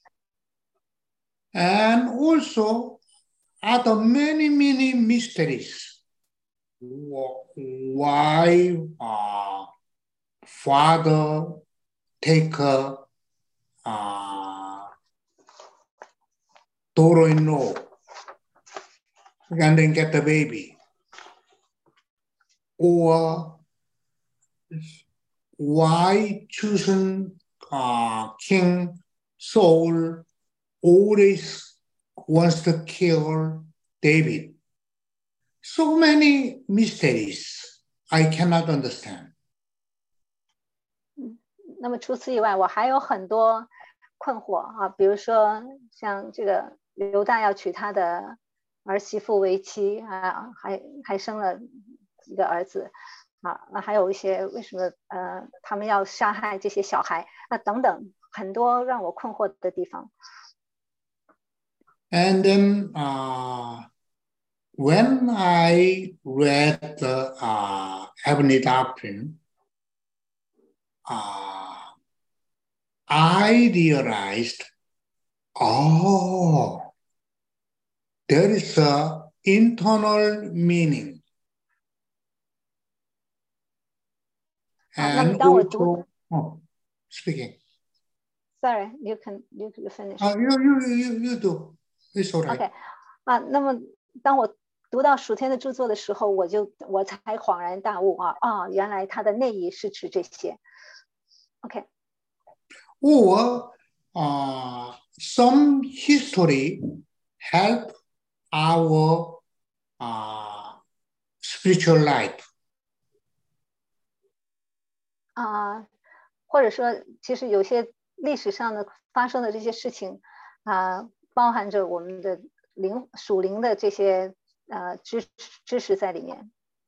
And also, are the many, many mysteries. Why uh, father take a uh, daughter-in-law and then get the baby? Or why chosen uh, King Saul always wants to kill David? So many mysteries I cannot understand. 那么除此以外，我还有很多困惑啊，比如说像这个犹大要娶他的儿媳妇为妻啊，还还生了几个儿子啊，那还有一些为什么呃他们要杀害这些小孩啊等等，很多让我困惑的地方。 And then uh, when I read the uh, Heavenly Doctrine, uh, I realized, oh, there is a internal meaning. 好，那么 And 当我读 also, oh, speaking. Sorry, you can you you finish. Uh, you, you, you, you do. It's all right. OK， 啊，那么当我读到属天的著作的时候，我就我才恍然大悟啊啊，原来它的内意是指这些。OK。 Or uh, some history help our uh, spiritual life. 啊，或者说，其实有些历史上的发生的这些事情啊，包含着我们的灵属灵的这些呃知知识在里面。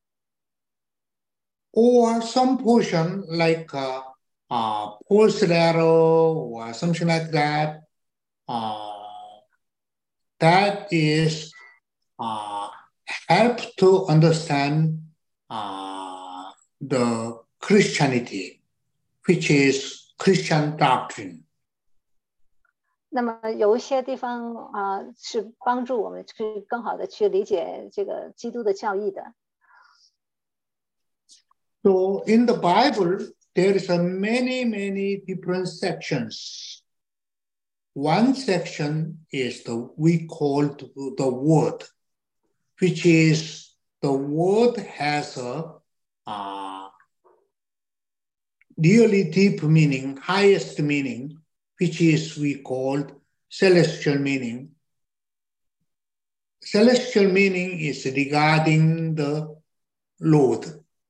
Or some portion like uh, uh, Paul's letter or something like that. Uh, that is uh, help to understand uh, the Christianity, which is Christian doctrine. 那么有一些地方啊、呃，是帮助我们去更好的去理解这个基督的教义的。 So in the Bible, there is a many, many different sections. One section is the we call the word, which is the word has a uh, really deep meaning, highest meaning, which is we called celestial meaning. Celestial meaning is regarding the Lord.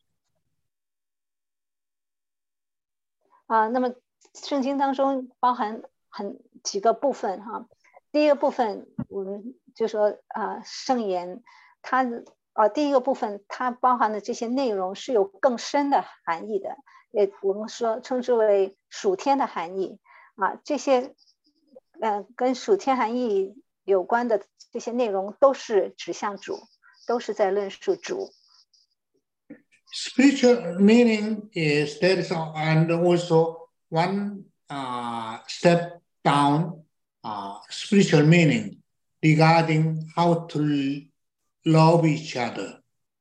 啊，那么圣经当中包含很几个部分哈。第一个部分，我们就说啊，圣言，它啊，第一个部分它包含的这些内容是有更深的含义的，也我们说称之为属天的含义啊。这些呃跟属天含义有关的这些内容都是指向主，都是在论述主。 Spiritual meaning is there is a, and also one uh, step down uh, spiritual meaning regarding how to love each other.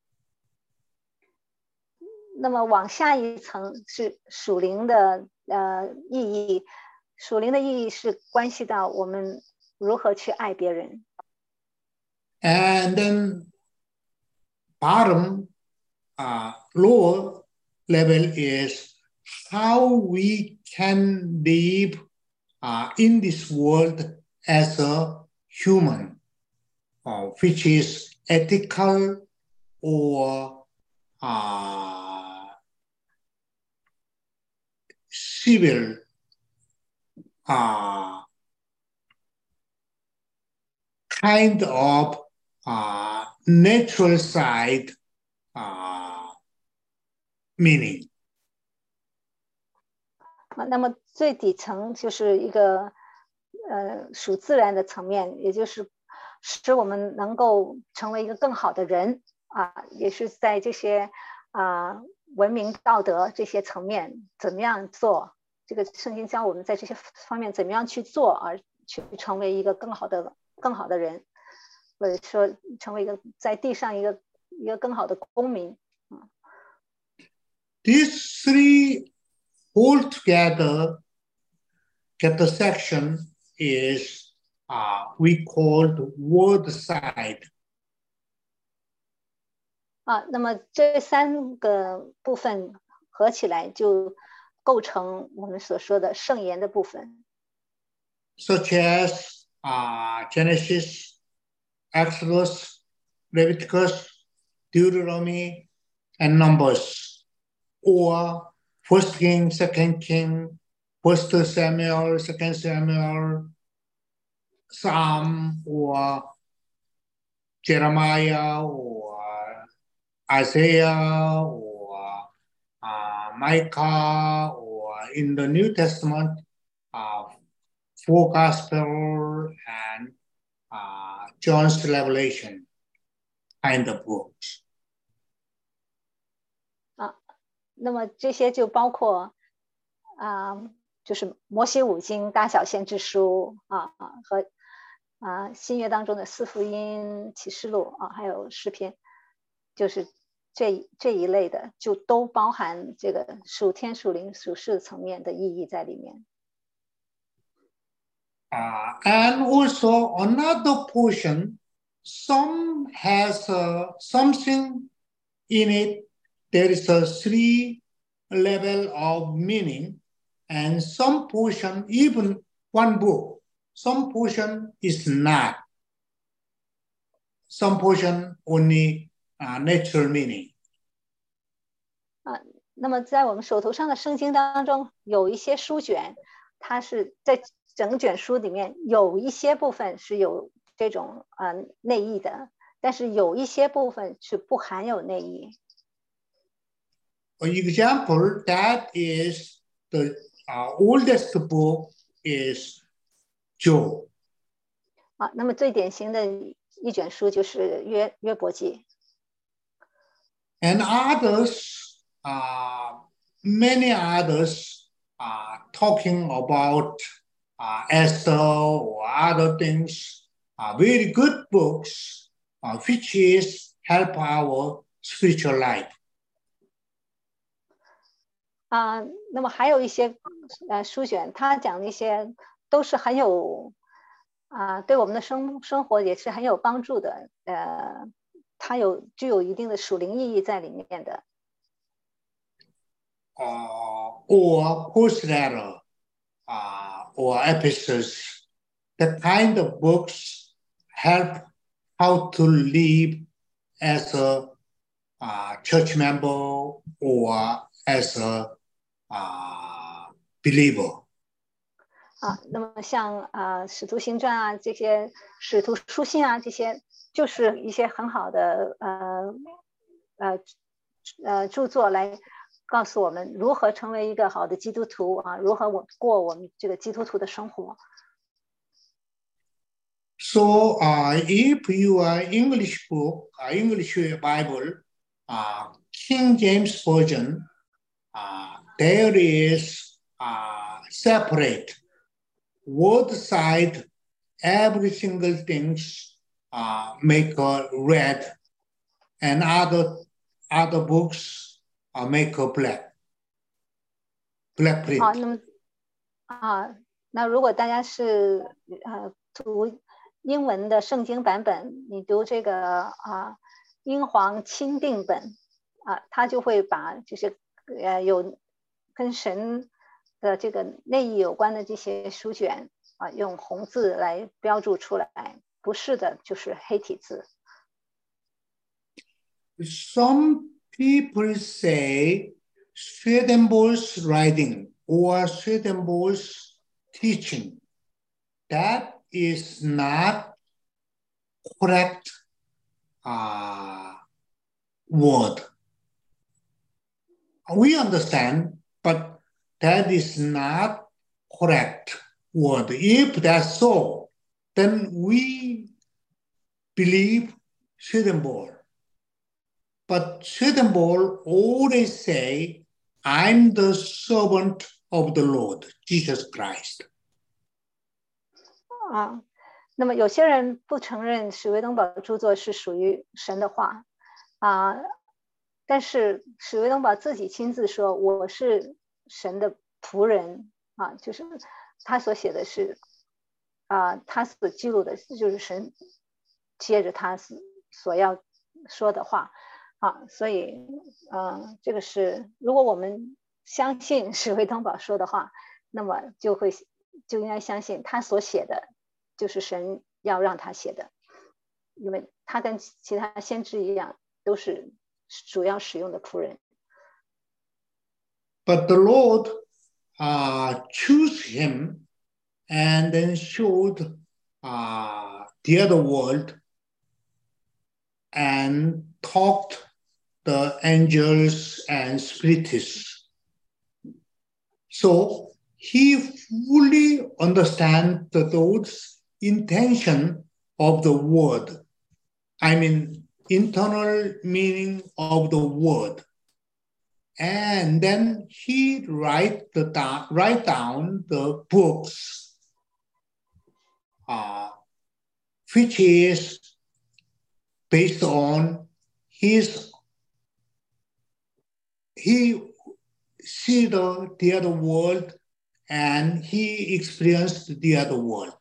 那么往下一层是属灵的呃意义，属灵的意义是关系到我们如何去爱别人。 And then bottom uh, lower level is how we can live uh, in this world as a human, uh, which is ethical or uh, civil, uh, kind of uh, natural side uh, meaning. 那么最底层就是一个呃属自然的层面，也就是使我们能够成为一个更好的人啊，也是在这些啊文明道德这些层面怎么样做，这个圣经教我们在这些方面怎么样去做，而去成为一个更好的更好的人，或者说成为一个在地上一个一个更好的公民。 These three all together get the section is uh, we called word side. 啊，那么这三个部分合起来就构成我们所说的圣言的部分。 Such as uh, Genesis, Exodus, Leviticus, Deuteronomy, and Numbers, or First King, Second King, First Samuel, Second Samuel, Psalm, or Jeremiah, or Isaiah, or uh, Micah, or in the New Testament, uh, four Gospel and uh, John's Revelation. kind of books. 啊，那么这些就包括啊，就是摩西五经、大小先知书啊和啊新约当中的四福音、启示录啊，还有诗篇，就是这这一类的，就都包含这个属天、属灵、属世层面的意义在里面。 Uh, and also another portion, some has uh, something in it. There is a three level of meaning, and some portion, even one book, some portion is not. Some portion only uh, natural meaning. 啊，那么在我们手头上的圣经当中，有一些书卷，它是在整卷书里面有一些部分是有这种呃内意的，但是有一些部分是不含有内意。 For example, that is the uh, oldest book is Job. 啊，那么最典型的一卷书就是约约伯记。 And others, uh, many others are talking about uh, Esther or other things, are very good books, uh, which is help our spiritual life. 啊，那么还有一些呃书卷，它讲的一些都是很有啊，对我们的生生活也是很有帮助的，呃，它有具有一定的属灵意义在里面的。 Uh, or postletter, uh, or epistles, the kind of books help how to live as a uh, church member or as a uh, believer. 啊，那么像啊《使徒行传》啊这些使徒书信啊这些，就是一些很好的呃呃呃著作来告诉我们如何成为一个好的基督徒啊，如何我过我们这个基督徒的生活。 So, uh, if you are English book, uh, English Bible, uh, King James Version, uh, there is uh, separate word side, every single things uh, make a red, and other other books uh, make a black, black print. 好，那么啊，那如果大家是呃读英文的圣经版本，你读这个啊英皇钦定本啊，它就会把就是呃有跟神的这个内意有关的这些书卷啊，用红字来标注出来，不是的就是黑体字。 Some people say Swedenborg's writing or Swedenborg's teaching, that is not correct uh, word. We understand, but that is not correct word. If that's so, then we believe Swedenborg. But Swedenborg always say, I'm the servant of the Lord, Jesus Christ. 啊，那么有些人不承认史维登堡著作是属于神的话啊，但是史维登堡自己亲自说我是神的仆人啊，就是他所写的是啊，他所记录的就是神接着他所要说的话啊，所以呃，这个是如果我们相信史维登堡说的话，那么就会就应该相信他所写的就是神要让他写的，因为他跟其他先知一样，都是主要使用的仆人。 But the Lord uh, chose him and then showed uh, the other world and taught the angels and spiritists. So he fully understands those intention of the word. I mean, internal meaning of the word. And then he write the down, write down the books, uh, which is based on his, he see the, the other world and he experienced the other world.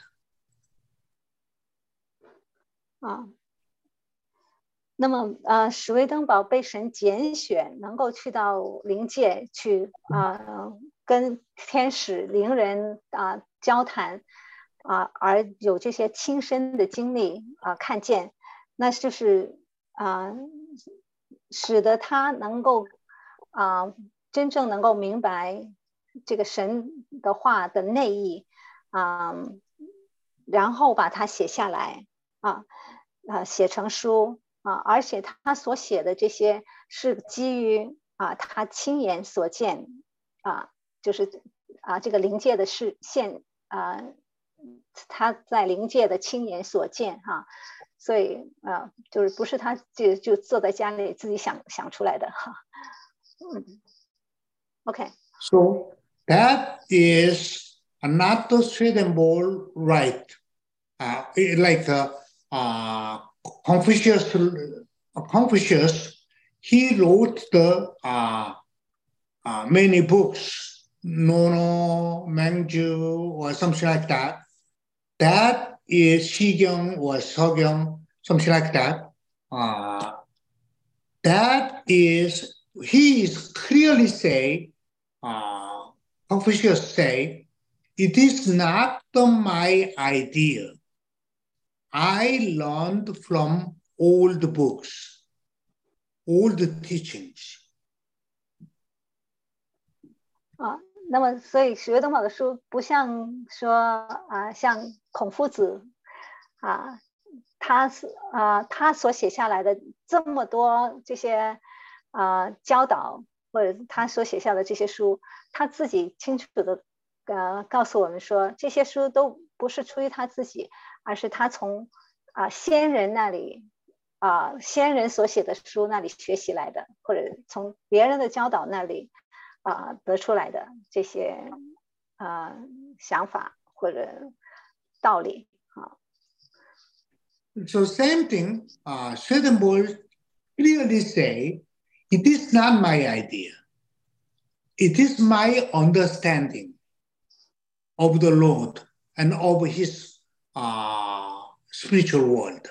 啊，那么呃，史威登堡被神拣选，能够去到灵界去啊、呃，跟天使、灵人啊、呃、交谈啊、呃，而有这些亲身的经历啊、呃，看见，那就是啊、呃，使得他能够啊、呃，真正能够明白这个神的话的内意啊、呃，然后把它写下来啊。啊，写成书啊，而且他所写的这些是基于啊他亲眼所见啊，就是啊这个灵界的视线啊，他在灵界的亲眼所见哈、啊，所以啊就是不是他就就坐在家里自己想想出来的哈。嗯 ，OK。 So that is another Swedenborg right, uh, like. Uh, Uh, Confucius, Confucius, he wrote the uh, uh, many books, Nono, Mangju, or something like that. That is Shigyong or Sogyong, something like that. Uh, that is, he is clearly say, uh, Confucius say, it is not the, my idea. I learned from old books, old teachings. 啊，那么所以史威登堡的书不像说啊，像孔夫子啊，他啊他所写下来的这么多这些啊教导，或者他所写下的这些书，他自己清楚的呃告诉我们说，这些书都不是出于他自己。而是他从啊、呃、先人那里啊、呃、先人所写的书那里学习来的，或者从别人的教导那里啊、呃、得出来的这些啊、呃、想法或者道理啊。 So same thing, uh, Swedenborg clearly say, it is not my idea. It is my understanding of the Lord and of his uh, spiritual world.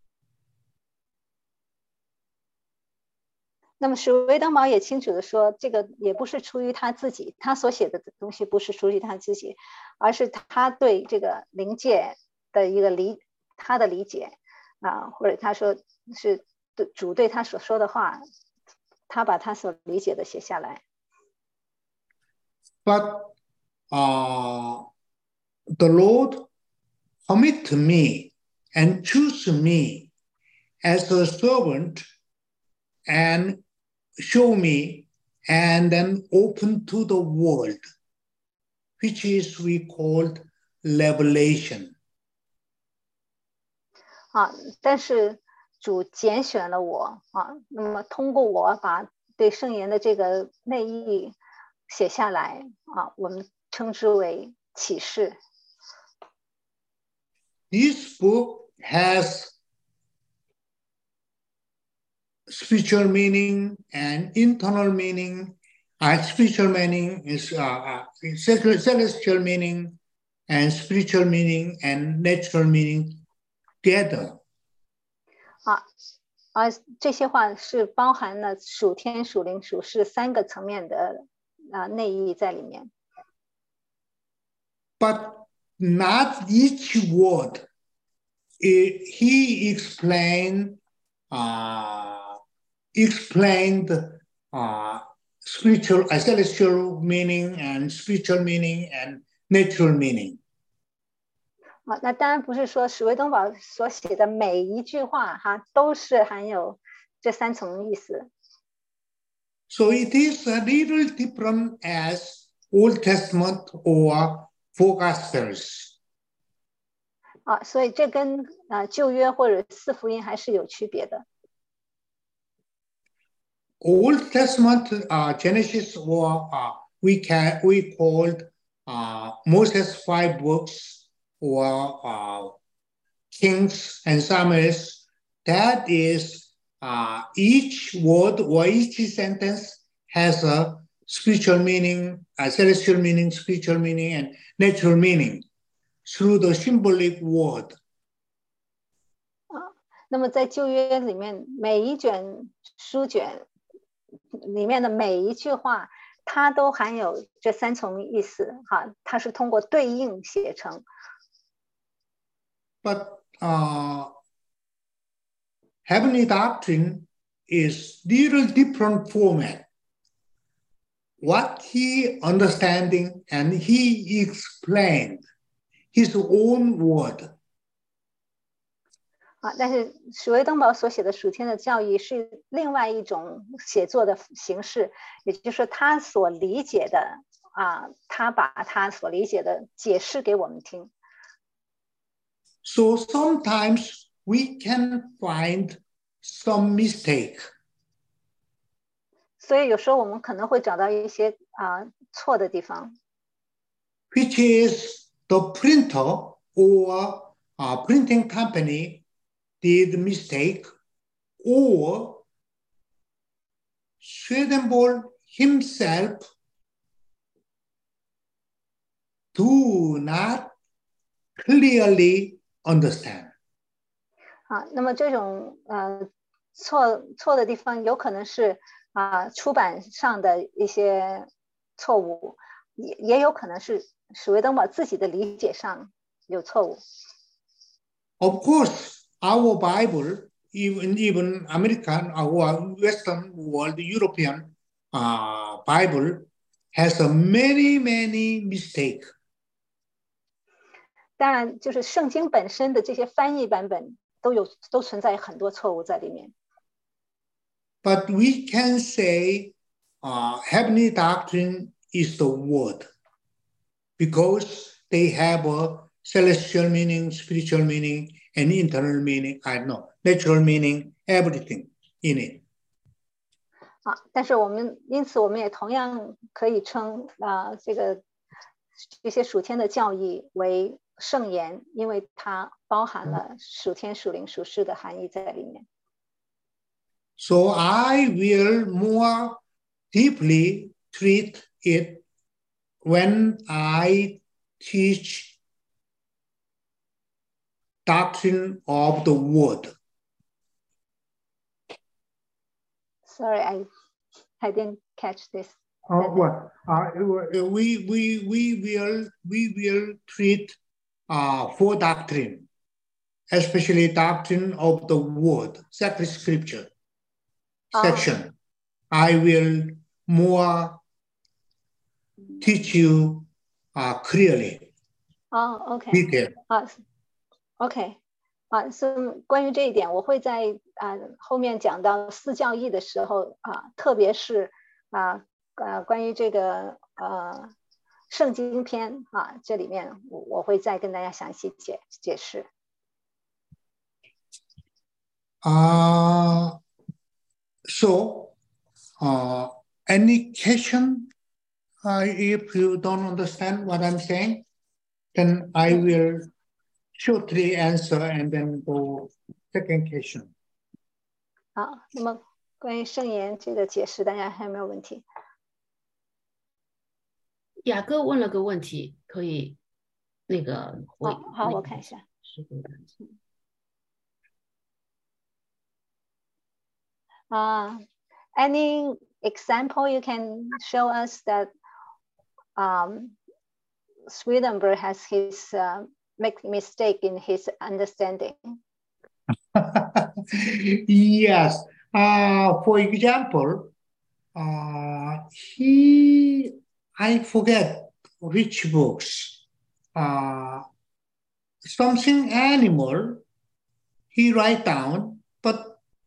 那么史威登堡也清楚的说，这个也不是出于他自己，他所写的东西不是出于他自己，而是他对这个灵界的一个理，他的理解啊，或者他说是主对他所说的话，他把他所理解的写下来。 But uh, the Lord commit me and choose me as a servant and show me and then open to the world, which is we called revelation. 啊，但是主拣选了我啊，那么通过我把对圣言的这个内意写下来啊，我们称之为启示。 This book has spiritual meaning and internal meaning. Uh, spiritual meaning is uh, uh, celestial meaning and spiritual meaning and natural meaning together. 啊，而这些话是包含了属天、属灵、属世三个层面的啊内意在里面。 But not each word. It, he explained, uh, explained uh, spiritual, uh, celestial meaning and spiritual meaning and natural meaning. 啊，那当然不是说史威登堡所写的每一句话哈都是含有这三层意思。 So it is a little different as Old Testament or four Gospels. 啊，所以这跟啊旧约或者四福音还是有区别的。 Old Testament uh, Genesis, or uh, we can we called uh, Moses five books, or uh, Kings and Samuels. That is, uh, each word or each sentence has a spiritual meaning, a celestial meaning, spiritual meaning, and natural meaning through the symbolic word. 那么在旧约里面，每一卷书卷里面的每一句话，它都含有这三重意思，哈，它是通过对应写成。 But uh, heavenly doctrine is little different format. What he understanding and he explained his own word. 啊，但是史威登堡所写的属天的教义是另外一种写作的形式，也就是说他所理解的啊，他把他所理解的解释给我们听。 So sometimes we can find some mistake. 所以有时候我们可能会找到一些啊错的地方。 Which is the printer or a printing company did mistake, or Swedenborg himself do not clearly understand. 啊，那么这种呃错错的地方，有可能是啊出版上的一些错误，也也有可能是史威登堡自己的理解上有错误。 Of course, our Bible, even even American or Western world, European uh, Bible, has a many many mistake. 当然，就是圣经本身的这些翻译版本都有都存在很多错误在里面。 But we can say uh, heavenly doctrine is the word, because they have a celestial meaning, spiritual meaning, and internal meaning, I know, natural meaning, everything in it. 啊，但是我们因此我们也同样可以称啊这个这些属天的教义为圣言，因为它包含了属天、属灵、属世的含义在里面。 So I will more deeply treat it when I teach doctrine of the word. Sorry, I I didn't catch this. Uh, well, uh, we we we will we will treat uh, for doctrine, especially doctrine of the word, sacred scripture section. I will more teach you uh, clearly. 哦 ，OK， detail. 啊 ，OK， 啊，所以关于这一点，我会在啊后面讲到四教义的时候啊，特别是啊呃关于这个呃圣经篇啊，这里面我我会再跟大家详细解解释。 Uh, so, uh, any question? Uh, if you don't understand what I'm saying, then I will shortly answer and then go second question. 好，那么关于圣言这个解释，大家还有没有问题？ 雅各问了个问题，可以那个回。 好，好，我看一下。 是回答。 Uh, any example you can show us that um, Swedenborg has his uh, make mistake in his understanding? Yes. Uh, for example, uh, he, I forget which books, uh, something animal, he write down, but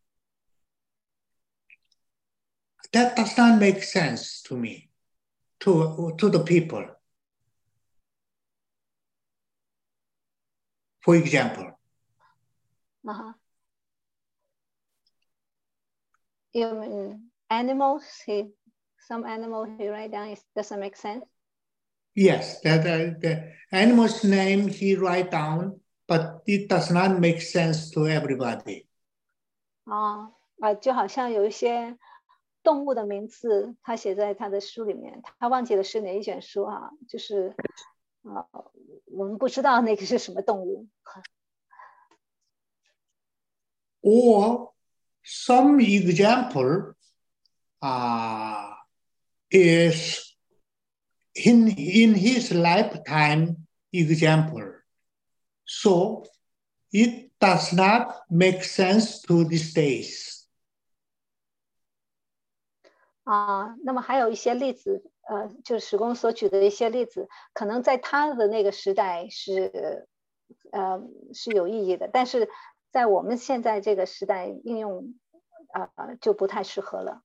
that does not make sense to me, to, to the people. For example. Uh-huh. You mean animals, he, some animal he write down, it doesn't make sense. Yes, that uh, the animal's name he write down, but it does not make sense to everybody. 啊啊，就好像有一些动物的名字，他写在他的书里面，他忘记了是哪一卷书啊，就是啊，我们不知道那个是什么动物。 Or some example uh, is in, in his lifetime example. So it does not make sense to these days. 啊，那么还有一些例子，呃，就是史公所举的一些例子，可能在他的那个时代是，呃，是有意义的，但是在我们现在这个时代应用，呃，就不太适合了。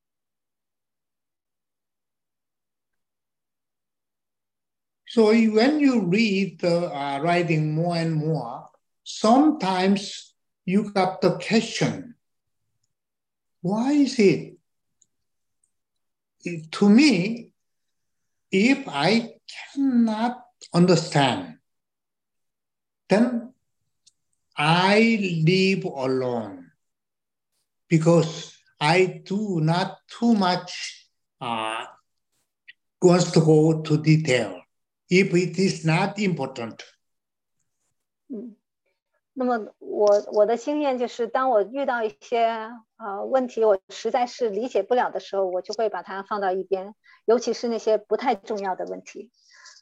So when you read the uh, writing more and more, sometimes you got the question, why is it? It, to me, if I cannot understand, then I live alone because I do not too much uh, wants to go to detail if it is not important. 嗯，那么我我的经验就是，当我遇到一些呃问题，我实在是理解不了的时候，我就会把它放到一边，尤其是那些不太重要的问题。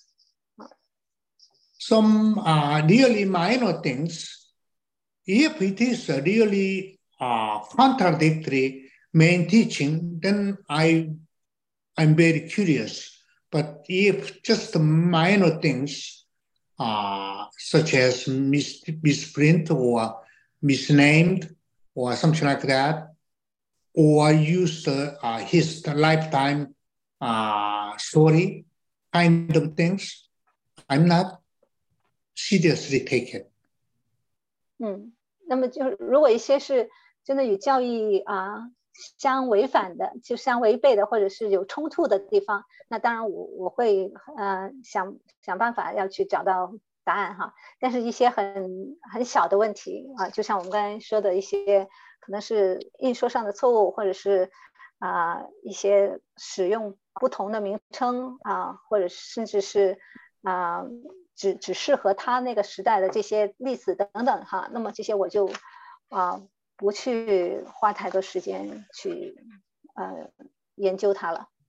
Some uh, really minor things, if it is a really uh, contradictory main teaching, then I, I'm very curious. But if just minor things, uh, such as mis- misprint or misnamed or something like that, or use the, uh, his lifetime uh, story kind of things, I'm not seriously take it. 嗯，那么就是如果一些是真的与教义啊相违反的，就相违背的，或者是有冲突的地方，那当然我我会呃想想办法要去找到答案哈。但是一些很很小的问题啊，就像我们刚才说的一些可能是印说上的错误，或者是啊、呃、一些使用不同的名称啊，或者甚至是啊。呃只只适合他那个时代的这些例子等等哈，那么这些我就啊、呃、不去花太多时间去呃研究它了。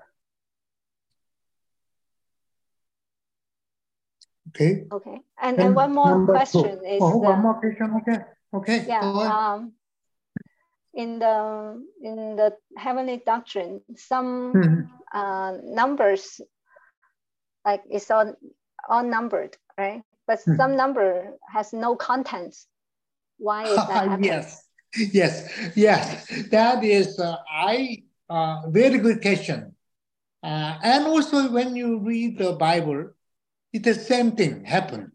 Okay. Okay. And and one more question two. is oh, the, one more question. Okay. Okay. Yeah. Go on. Um, in the in the heavenly doctrine, some mm-hmm. uh, numbers like it's all all numbered, right? But mm-hmm. some number has no contents. Why is that happening? Yes. Yes. Yes. That is uh, I uh, very good question. Uh, and also when you read the Bible, it's the same thing happen.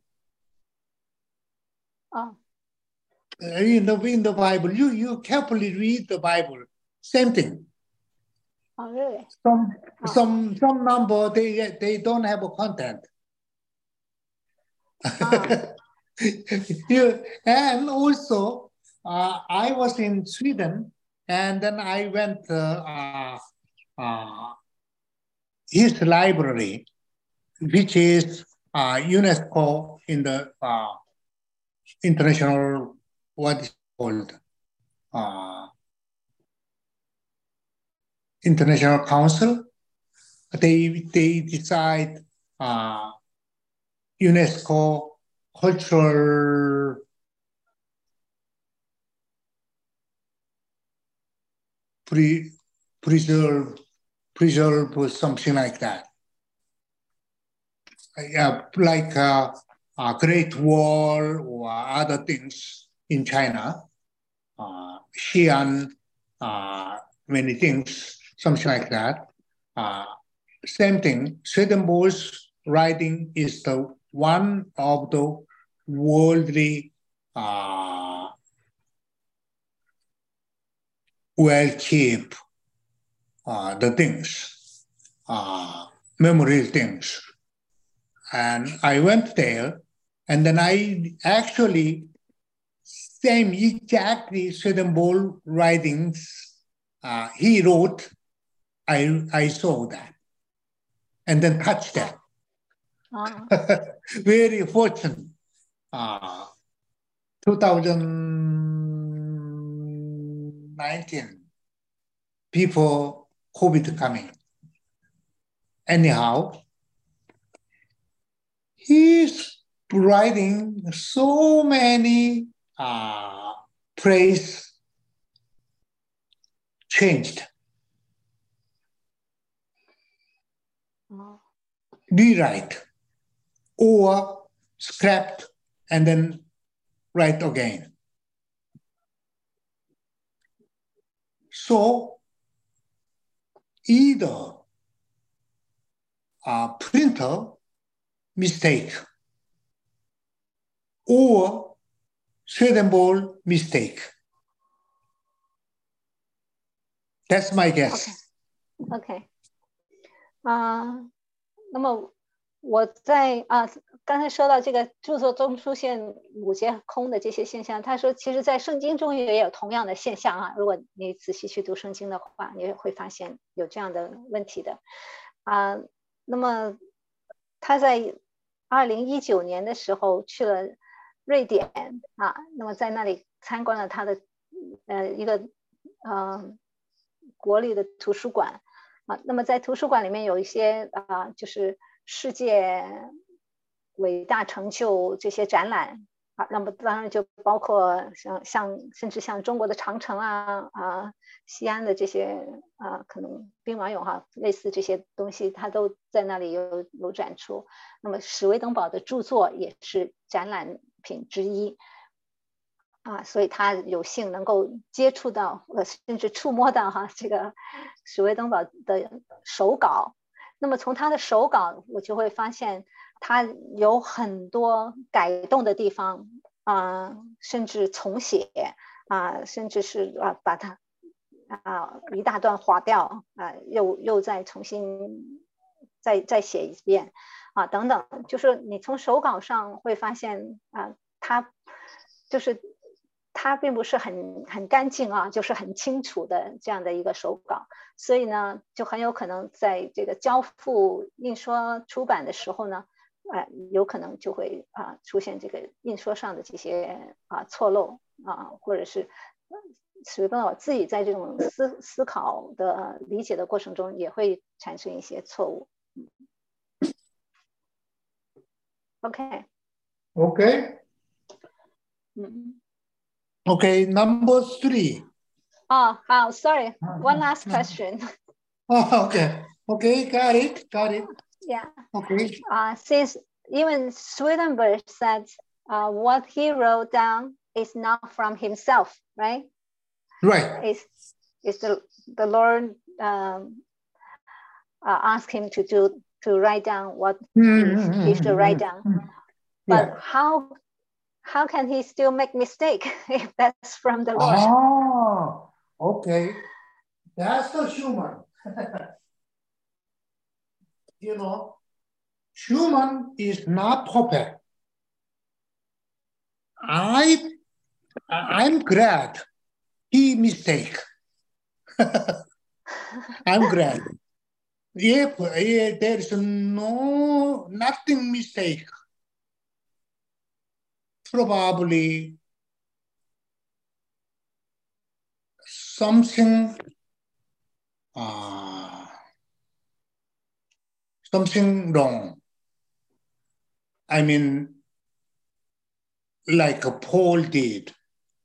Oh. Uh, in the in the Bible, you you carefully read the Bible, same thing. Oh, really? Some oh. some some number they they don't have a content. Oh. you, and also uh, I was in Sweden, and then I went uh, uh, uh, his library, which is uh, UNESCO in the uh, international, what is called, uh, International Council. They, they decide uh, UNESCO cultural pre, preserve, preserve or something like that. Uh, like uh, a Great Wall or other things in China, uh, Xi'an, uh, many things, something like that. Uh, same thing, Swedenborg's writing is the one of the worldly uh, well kept uh, the things, uh, memory things. And I went there, and then I actually, same exactly Swedenborg writings uh, he wrote, I, I saw that, and then touched that. Ah. Very fortunate. Uh, two thousand nineteen, before COVID coming. Anyhow, he's writing so many uh, praise changed, Oh. rewrite, or scrapped and then write again. So either a printer mistake or Swedenborg mistake. That's my guess. OK， 啊、呃，那么我在啊、呃、刚才说到这个著作中出现五节空的这些现象，他说其实在圣经中也有同样的现象啊。如果你仔细去读圣经的话，你会发现有这样的问题的啊、呃。那么他在二零一九年的时候去了瑞典啊，那么在那里参观了他的呃一个呃国立的图书馆啊。那么在图书馆里面有一些啊，就是世界伟大成就这些展览啊，那么当然就包括像像甚至像中国的长城啊啊，西安的这些啊，可能兵马俑哈，类似这些东西，它都在那里有有展出。那么史威登堡的著作也是展览品之一啊，所以他有幸能够接触到呃，甚至触摸到哈这个史威登堡的手稿。那么从他的手稿，我就会发现他有很多改动的地方啊、呃，甚至重写啊、呃，甚至是啊把它啊一大段划掉啊、呃，又又再重新再再写一遍啊等等，就是你从手稿上会发现啊、呃，他就是它并不是很很干净啊，就是很清楚的这样的一个手稿，所以呢，就很有可能在这个交付印刷出版的时候呢，呃，有可能就会啊、呃、出现这个印刷上的这些啊、呃、错漏啊、呃，或者是史威登堡自己在这种思思考的理解的过程中也会产生一些错误。OK。 OK。 嗯。 Okay, number three. Oh, oh, sorry. One last question. Oh, okay. Okay, got it, got it. Yeah. Okay. Uh, since even Swedenborg said uh, what he wrote down is not from himself, right? Right. It's, it's the, the Lord um, uh, asked him to do to write down what mm-hmm. he, he should write down. Mm-hmm. But yeah. how how can he still make mistake if that's from the Lord? Oh, okay. That's the human. You know, human is not perfect. I, I'm glad he mistake. I'm glad. If, if there's no, nothing mistake, probably something uh, something wrong. I mean, like Paul did.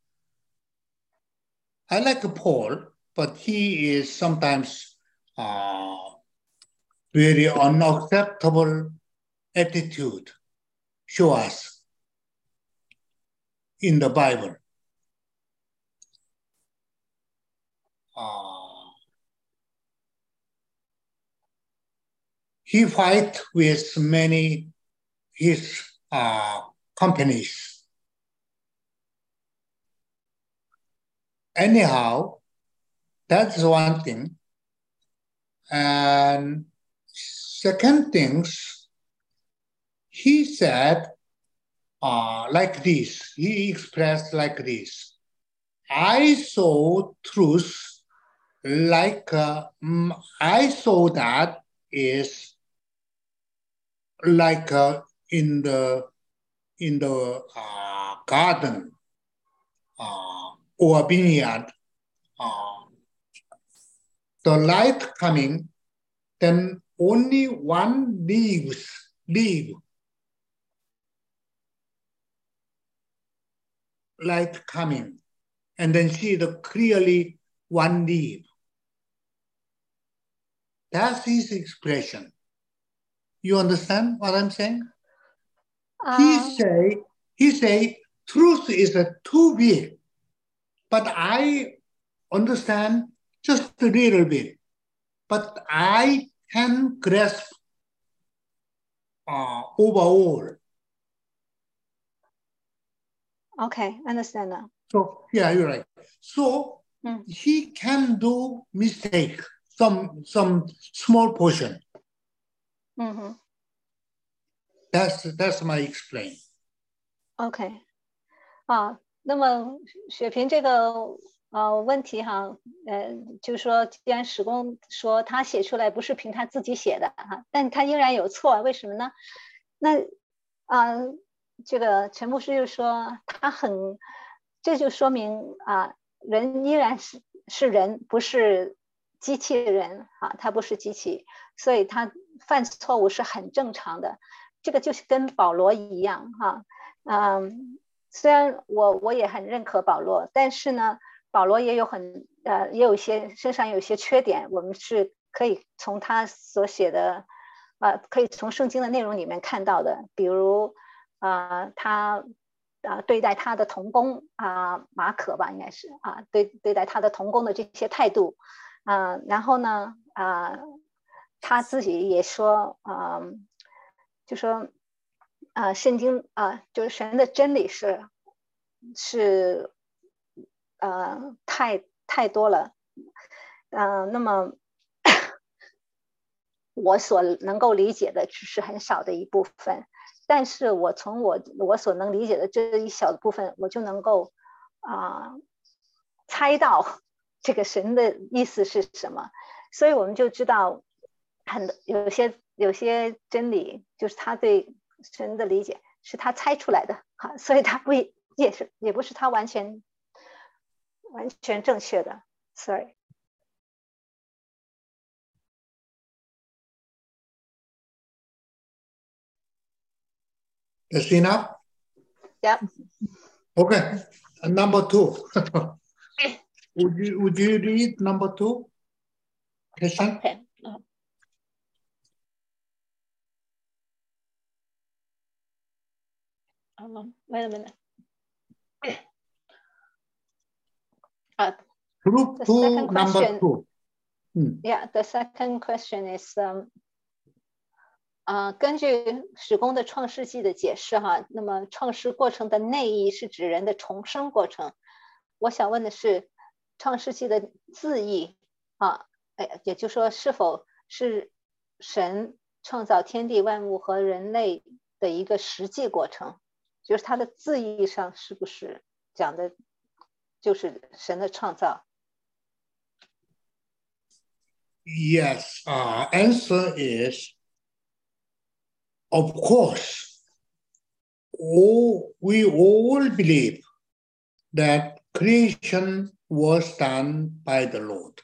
I like Paul, but he is sometimes uh, very unacceptable attitude show us in the Bible. Uh, he fight with many his uh, companies. Anyhow, that's one thing. And second things, he said uh, like this, he expressed like this. I saw truth like, uh, I saw that is like uh, in the, in the uh, garden uh, or vineyard, uh, the light coming, then only one leaves, leaf, light coming, and then see the clearly one leaf. That's his expression. You understand what I'm saying? Uh, he say, he say, truth is a too big, but I understand just a little bit. But I can grasp uh, overall. Okay, understand now. So yeah, you're right. So mm. he can do mistake, some some small portion. Mm-hmm. That's that's my explain. OK， 啊，那么雪萍这个呃问题哈，呃，就是说，既然史公说他写出来不是凭他自己写的哈，但他依然有错，为什么呢？那啊、呃，这个陈牧师就说他很，这就说明啊，人依然是是人，不是机器人啊，他不是机器，所以他犯错误是很正常的。这个就是跟保罗一样哈，嗯，虽然我我也很认可保罗，但是呢，保罗也有很呃也有一些身上有一些缺点，我们是可以从他所写的，呃，可以从圣经的内容里面看到的，比如呃他啊、呃、对待他的同工啊、呃、马可吧，应该是啊、呃、对对待他的同工的这些态度啊、呃，然后呢啊、呃、他自己也说啊。呃就说，啊、呃，圣经啊、呃，就是神的真理是是呃太太多了，呃，那么我所能够理解的只是很少的一部分，但是我从我我所能理解的这一小的部分，我就能够啊、呃、猜到这个神的意思是什么，所以我们就知道很有些。有些真理就是他对神的理解是他猜出来的，哈，所以他不也是也不是他完全完全正确的。Sorry. That's enough? Yep. Okay. Number two. would you would you read number two? Question? Okay. Um, wait a minute. Uh, Group two, number question, two. Hmm. Yeah, the second question is, um, 呃，根据史公的创世纪的解释哈，那么创世过程的内意是指人的重生过程。我想问的是，创世纪的字义啊，哎，也就是说，是否是神创造天地万物和人类的一个实际过程？就是它的字义上是不是讲的，就是神的创造 ？Yes. Uh, answer is, of course. All, we all believe that creation was done by the Lord.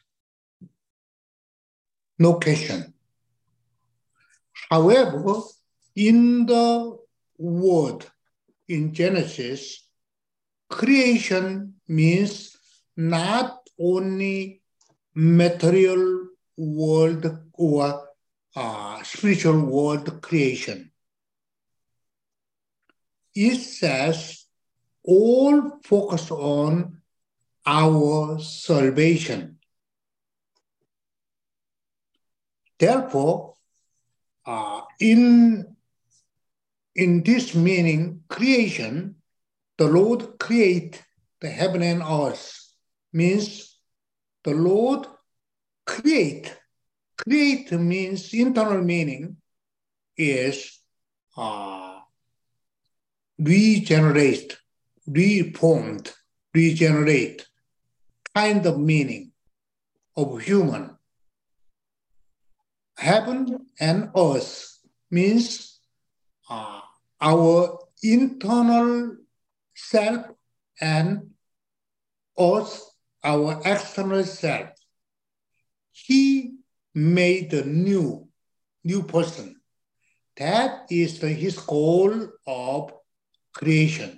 No question. However, in the word, in Genesis, creation means not only material world or uh, spiritual world creation. It says all focus on our salvation. Therefore, uh, in, in this meaning, creation, the Lord create the heaven and earth, means the Lord create, create means internal meaning is uh, regenerate, reformed, regenerate kind of meaning of human. Heaven and earth means uh, our internal self and earth, our external self. He made a new, new person. That is the, his goal of creation.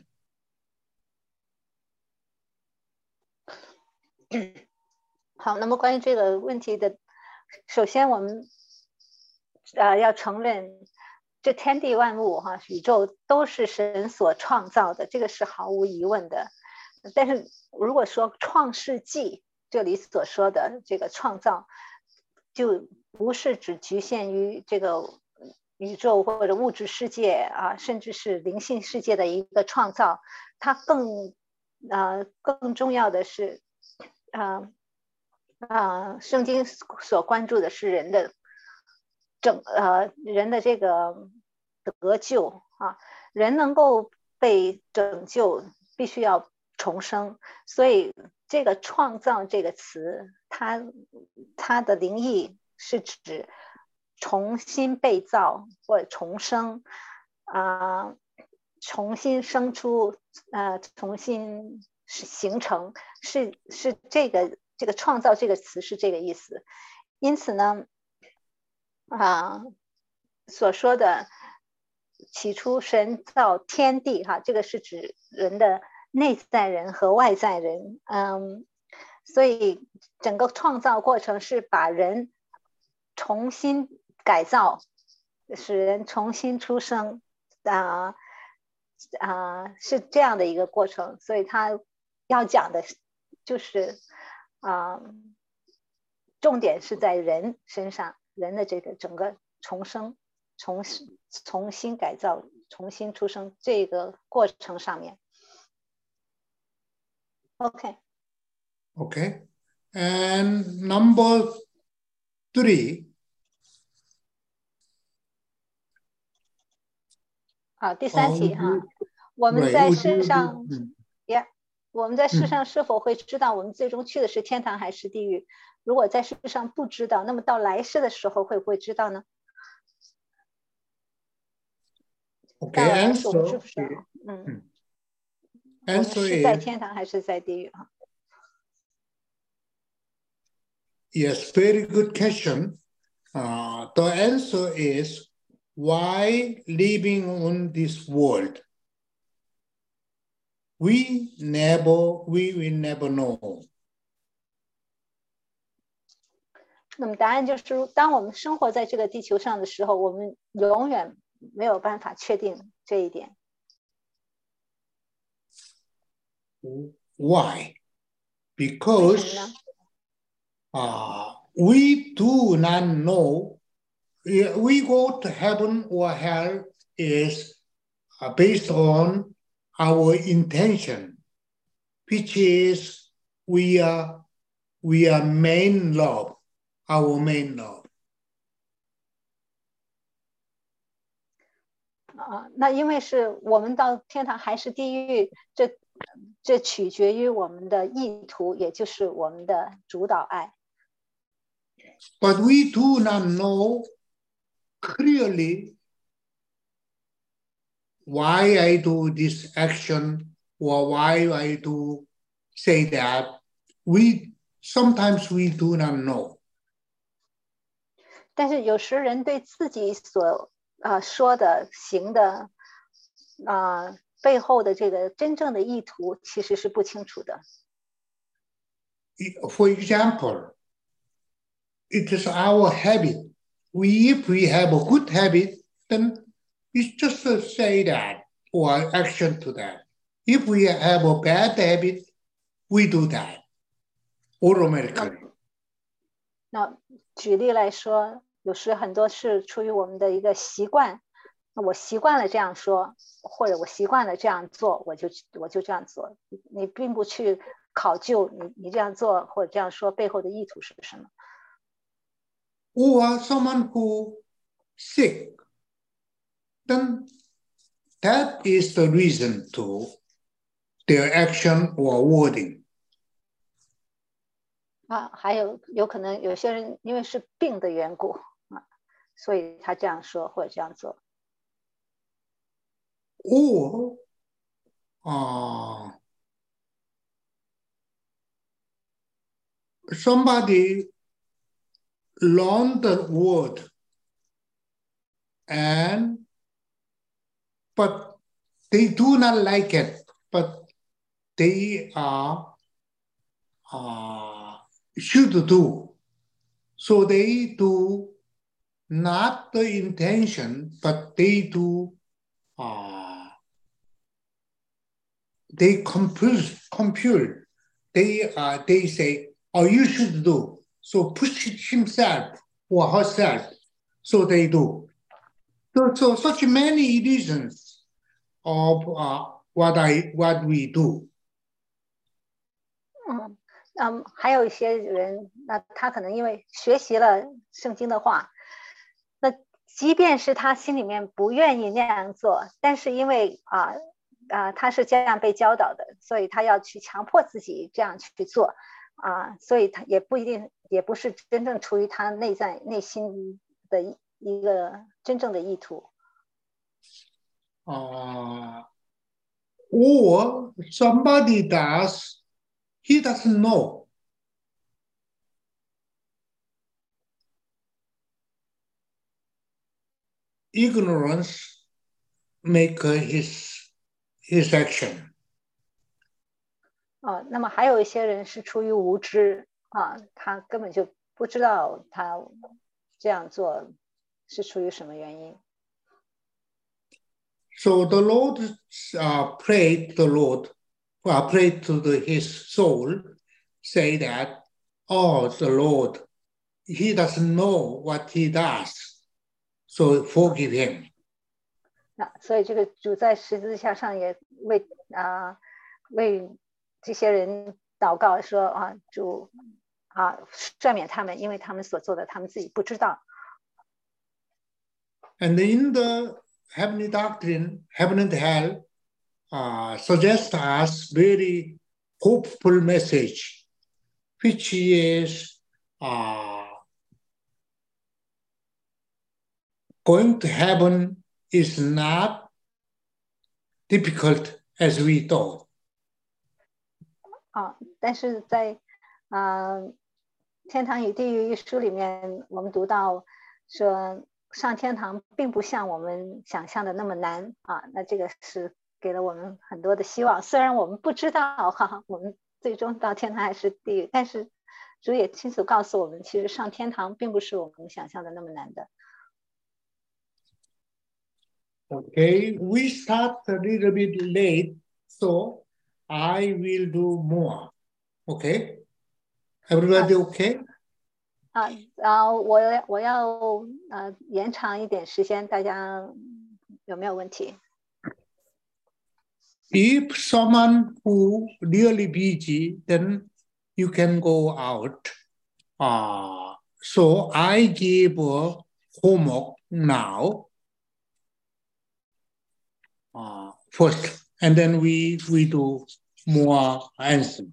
好，那么关于这个问题的，首先我们呃要承认，这天地万物哈，宇宙都是神所创造的，这个是毫无疑问的。但是如果说创世纪这里所说的这个创造，就不是只局限于这个宇宙或者物质世界啊，甚至是灵性世界的一个创造，它更呃更重要的是，呃呃，圣经所关注的是人的整呃人的这个得救啊，人能够被拯救，必须要重生，所以这个创造这个词，它它的灵意是指重新被造或者重生啊、呃，重新生出呃，重新形成，是是这个这个创造这个词是这个意思。因此呢，啊、呃，所说的起初神造天地哈，这个是指人的内在人和外在人，嗯，所以整个创造过程是把人重新改造，使人重新出生啊啊、呃呃，是这样的一个过程。所以他要讲的就是啊、呃，重点是在人身上，人的这个整个重生、重重新改造、重新出生这个过程上面。Okay. Okay. And number three. 好，第三题哈，我们在世上，呀，我们在世上是否会知道我们最终去的是天堂还是地狱？如果在世上不知道，那么到来世的时候会不会知道呢？ Okay, 到来世我们 answer, 知不知道？嗯， answer 我们是在 is 天堂还是在地狱啊？ Yes, very good question. Uh, the answer is why living on this world? We never, we will never know. 那么答案就是，当我们生活在这个地球上的时候，我们永远没有办法确定这一点。 Why? Because uh, we do not know. We go to heaven or hell is uh, based on our intention, which is we are we are main love, our main love. 啊，那因为是我们到天堂还是地狱，这这取决于我们的意图，也就是我们的主导爱。 But we do not know clearly why I do this action or why I do say that. We sometimes we do not know. 但是有时人对自己所啊、呃、说的、行的啊、呃、背后的这个真正的意图其实是不清楚的。 For example, it is our habit. We, if we have a good habit, then it's just to say that or action to that. If we have a bad habit, we do that automatically. 那举例来说，有时很多是出于我们的一个习惯，我习惯了这样说，或者我习惯了这样做，我就我就这样做。你并不去考究你你这样做或者这样说背后的意图是什么。 or someone who sick, then that is the reason to their action or wording. 啊，还有有可能有些人因为是病的缘故啊，所以他这样说或者这样做。 Or uh, somebody learned the word and but they do not like it, but they are uh, should do. So they do not the intention, but they do uh, they compel, compel. They uh, they say, "Oh, you should do." So push himself or herself. So they do. So, so such many reasons of uh, what I what we do. 嗯嗯，还有一些人，那他可能因为学习了圣经的话，那即便是他心里面不愿意那样做，但是因为啊啊他是这样被教导的，所以他要去强迫自己这样去做啊，所以他也不一定，也不是真正出于他内在内心的一一个真正的意图。 Uh, or somebody does, he doesn't know. Ignorance make his his action. 啊，那么还有一些人是出于无知啊，他根本就不知道他这样做是出于什么原因。 So the Lord uh, prayed the Lord, uh, prayed to the, his soul, say that, oh, the Lord, he doesn't know what he does, so forgive him. 那所以这个主在十字架上也为啊为这些人祷告说啊主啊赦免他们，因为他们所做的他们自己不知道。 And in the heavenly doctrine, heaven and hell uh, suggest us very hopeful message, which is uh, going to heaven is not difficult as we thought. 啊，但是在啊《天堂与地狱》一书里面，我们读到说上天堂并不像我们想象的那么难啊，那这个是给了我们很多的希望。虽然我们不知道哈，我们最终到天堂还是地狱，但是主也清楚告诉我们，其实上天堂并不是我们想象的那么难的。 Okay, we start a little bit late, so I will do more. Okay, everybody okay? 啊啊，我我要呃延长一点时间，大家有没有问题？ If someone who really busy, then you can go out. Uh, so I give a homework now. Uh, first, and then we we do more answer.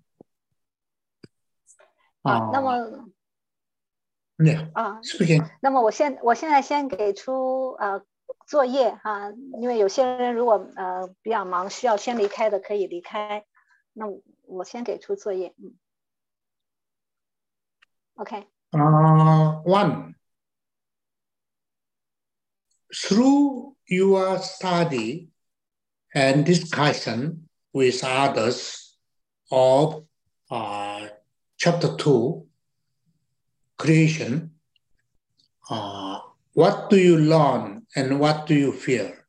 啊，那么 yeah, 啊， speaking. 那么我现我现在先给出呃作业哈、啊，因为有些人如果呃比较忙，需要先离开的可以离开。那我先给出作业，嗯 ，OK。 Uh, one. Through your study and discussion with others of uh, chapter two, creation, uh, what do you learn and what do you fear?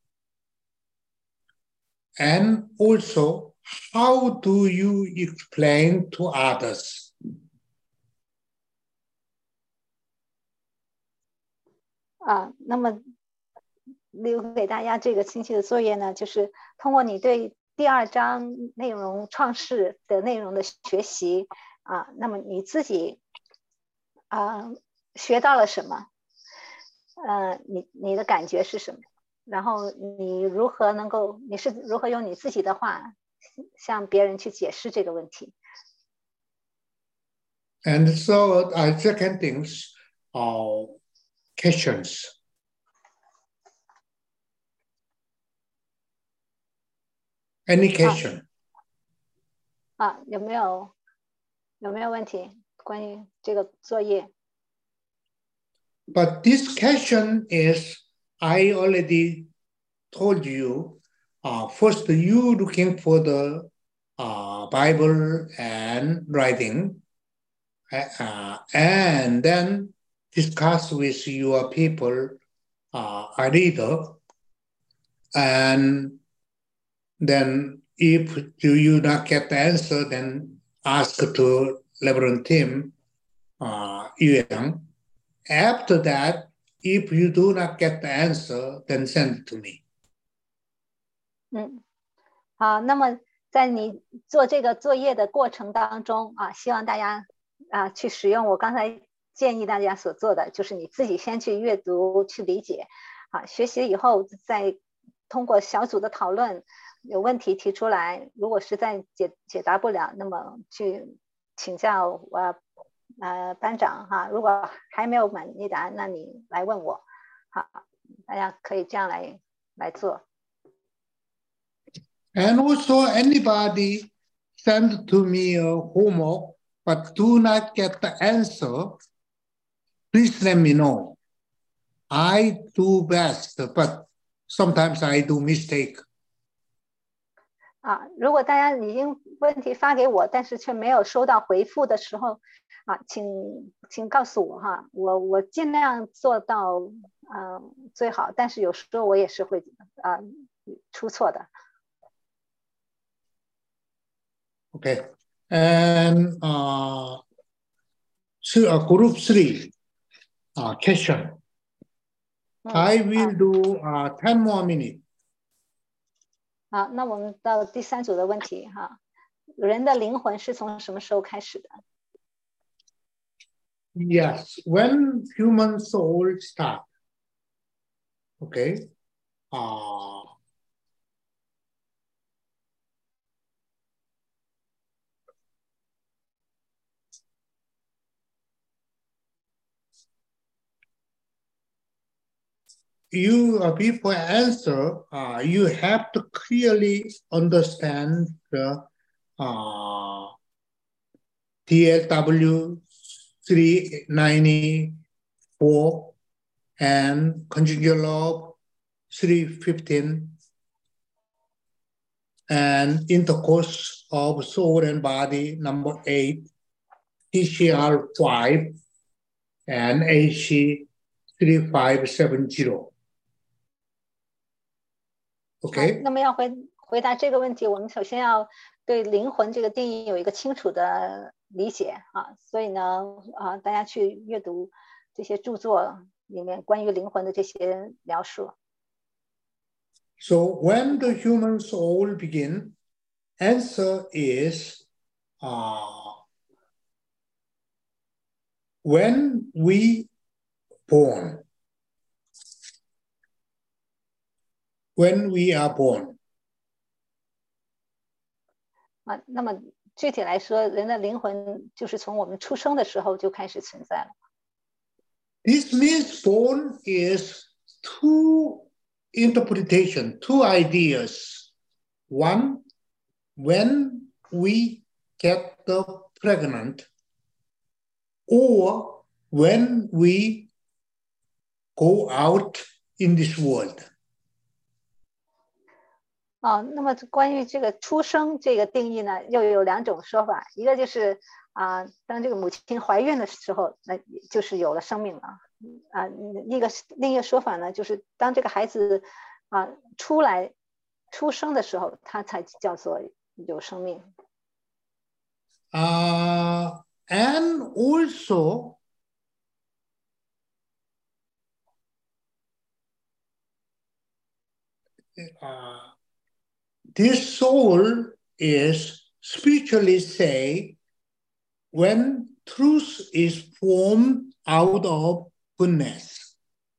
And also, how do you explain to others? 啊，那么留给大家这个星期的作业呢，就是通过你对第二章内容创世的内容的学习啊，那么你自己啊学到了什么？呃，你你的感觉是什么？然后你如何能够，你是如何用你自己的话向别人去解释这个问题？ And so our second things are questions. Any question? 啊，有没有有没有问题关于这个作业？ But this question is, I already told you, uh, first you looking for the uh, Bible and writing, uh, and then discuss with your people, uh, a reader, and then if you, you not get the answer, then ask to Reverend Tim uh, Yuang. After that, if you do not get the answer, then send it to me. 嗯，好，那么在你做这个作业的过程当中啊，希望大家啊去使用我刚才建议大家所做的，就是你自己先去阅读、去理解，啊，学习以后再通过小组的讨论，有问题提出来，如果实在解解答不了，那么去请教我呃班长哈，如果还没有满意答案，那你来问我，好，大家可以这样来来做。 And also anybody send to me a homework, but do not get the answer, please let me know. I do best, but sometimes I do mistake. 啊，如果大家已经问题发给我，但是却没有收到回复的时候，啊，请请告诉我哈，我我尽量做到呃最好，但是有时候我也是会啊、呃、出错的。 Okay, and uh, so, uh, group three uh, question. I will do uh, ten more minutes. 好，那我们到第三组的问题哈，人的灵魂是从什么时候开始的？ Yes, when human soul start. Okay. Uh, you uh, before answer, uh, you have to clearly understand the uh, T L W three ninety-four and conjugal law three fifteen and intercourse of soul and body number eight, T C R five and A C three five seven zero. Okay. 那么要回回答这个问题，我们首先要对灵魂这个定义有一个清楚的理解啊，所以呢，啊，大家去阅读这些著作里面关于灵魂的这些描述。 So when the human soul begin, answer is uh, when we born. When we are born. 啊，那么具体来说，人的灵魂就是从我们出生的时候就开始存在了。 This means born is two interpretation, two ideas. One, when we get the pregnant, or when we go out in this world. 哦，那么关于这个出生这个定义呢，又有两种说法，一个就是啊、呃，当这个母亲怀孕的时候，那就是有了生命了啊、呃；一个另一个说法呢，就是当这个孩子啊、呃、出来出生的时候，他才叫做有生命。 Uh, and also, uh, this soul is spiritually say when truth is formed out of goodness.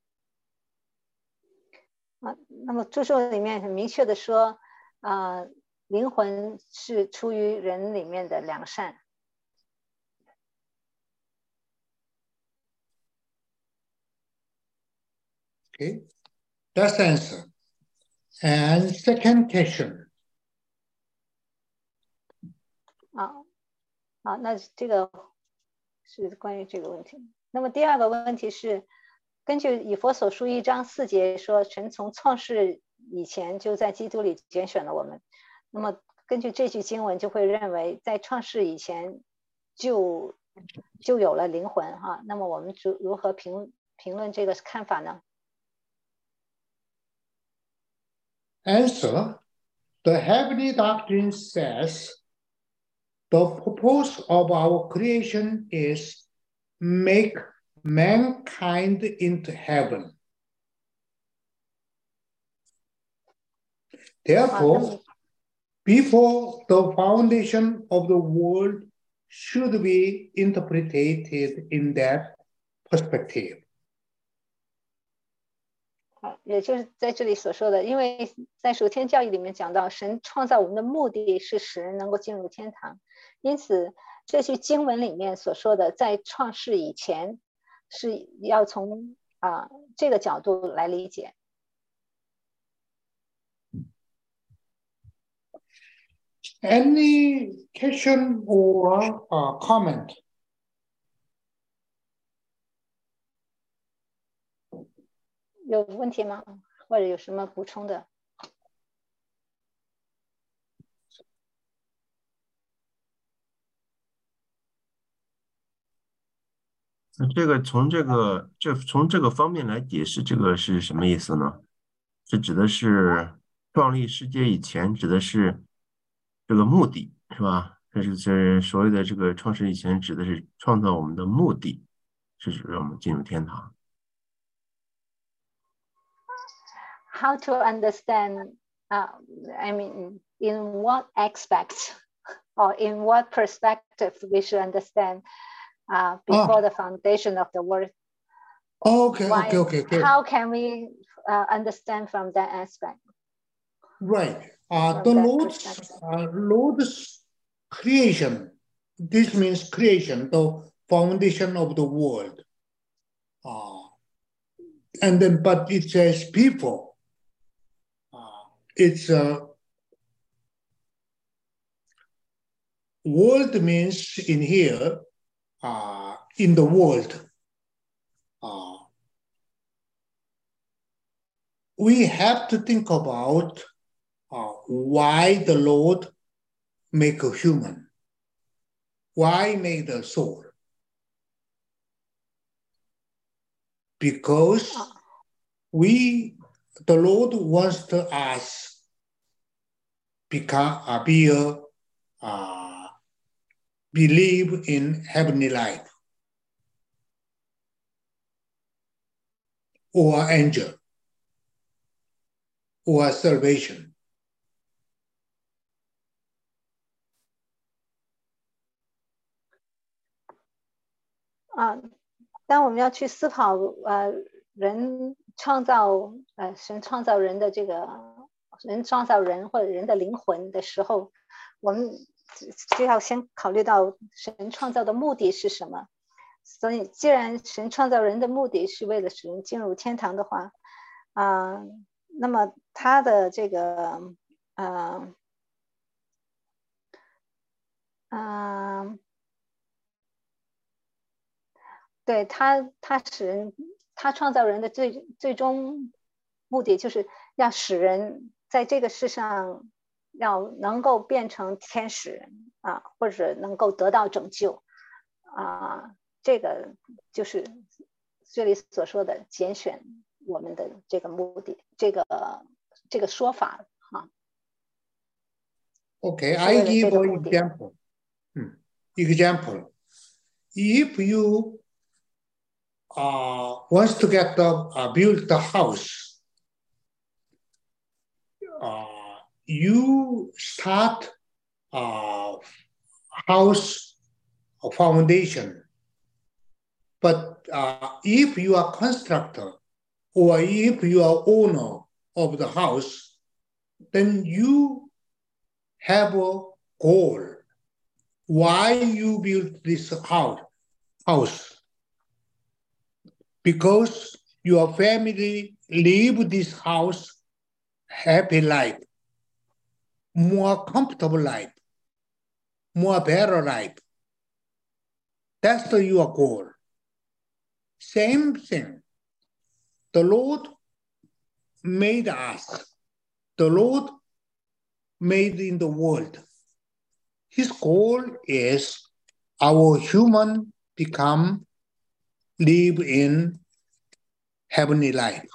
啊，那么注释里面很明确的说，啊、呃，灵魂是出于人里面的良善。 Okay, that's the answer. And second question. 啊，好，那这个是关于这个问题。那么第二个问题是，根据以弗所书一章四节说，神从创世以前就在基督里拣选了我们。那么根据这句经文，就会认为在创世以前就就有了灵魂哈。那么我们如如何评评论这个看法呢？ Answer: The heavenly doctrine says the purpose of our creation is make mankind into heaven. Therefore, before the foundation of the world should be interpreted in that perspective. 好，也就是在这里所说的，因为在属天教义里面讲到，神创造我们的目的是使人能够进入天堂，因此这句经文里面所说的，在创世以前，是要从啊、呃、这个角度来理解。 Any question or uh, comment? 有问题吗？或者有什么补充的？ 这个从这个这从这个方面来解释，这个是什么意思呢？这指的是创立世界以前，指的是这个目的，是吧？这是这所谓的这个创世以前，指的是创造我们的目的，是指让我们进入天堂。 How to understand? Uh, I mean, in what aspects or in what perspective we should understand uh, before oh. the foundation of the world? Okay, Why, okay, okay, okay. How can we uh, understand from that aspect? Right. Uh, the Lord's, uh, Lord's creation. This means creation, the foundation of the world. Uh, and then, but it says people. It's a uh, world means in here, uh, in the world. Uh, we have to think about uh, why the Lord make a human, why make the soul? Because we, the Lord wants to us become, uh, be a, uh, believe in heavenly life or angel or salvation. 啊，当我们要去思考呃人创造呃神创造人的这个人创造人或者人的灵魂的时候，我们就要先考虑到神创造的目的是什么。所以，既然神创造人的目的是为了使人进入天堂的话，啊、呃，那么他的这个呃呃。对他，他使人，他创造人的最最终目的，就是要使人在这个世上要能够变成天使啊，或者能够得到拯救啊，这个就是这里所说的拣选我们的这个目的，这个这个说法哈。 Okay, I give an example. Hmm. Example. If you Uh, wants to get the uh, build the house. Uh, you start uh, house foundation, But uh, if you are constructor or if you are owner of the house, then you have a goal. Why you built this house? House? Because your family live this house happy life, more comfortable life, more better life. That's the, your goal. Same thing. The Lord made us. The Lord made in the world. His goal is our human become, live in heavenly life.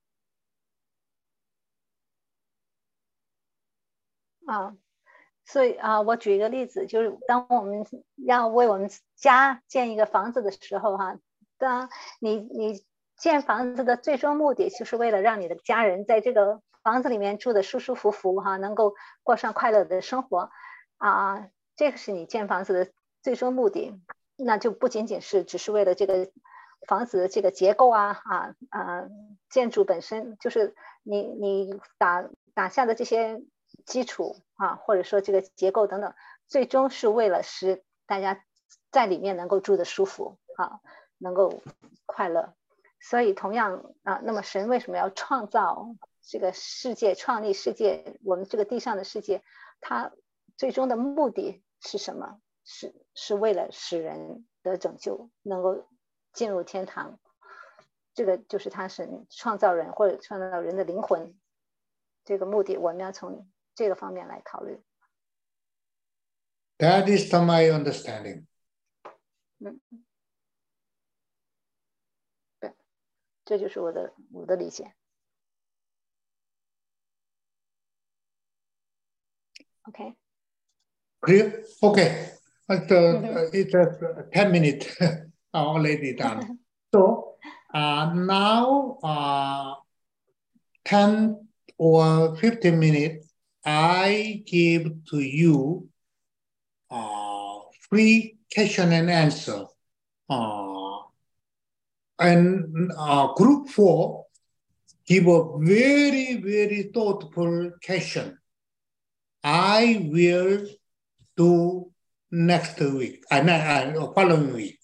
啊，所以啊，我举一个例子，就是当我们要为我们家建一个房子的时候，哈，当你你建房子的最终目的，就是为了让你的家人在这个房子里面住的舒舒服服，哈，能够过上快乐的生活，啊，这个是你建房子的最终目的。那就不仅仅是只是为了这个房子的这个结构啊，啊啊，建筑本身就是你你打打下的这些基础啊，或者说这个结构等等，最终是为了使大家在里面能够住得舒服啊，能够快乐。所以同样啊，那么神为什么要创造这个世界，创立世界，我们这个地上的世界，它最终的目的是什么？是是为了使人得拯救，能够进入天堂。这个就是他神创造人或者创造人的灵魂这个目的，我们要从这个方面来考虑。 That is to my understanding. 嗯，对，这就是我的我的理解。OK. Clear? Okay. But, uh, mm-hmm. It's uh, ten minutes already done. So uh, now uh, ten or fifteen minutes, I give to you uh, free question and answer. Uh, and uh, group four give a very, very thoughtful question. I will do next week, uh, uh, following week.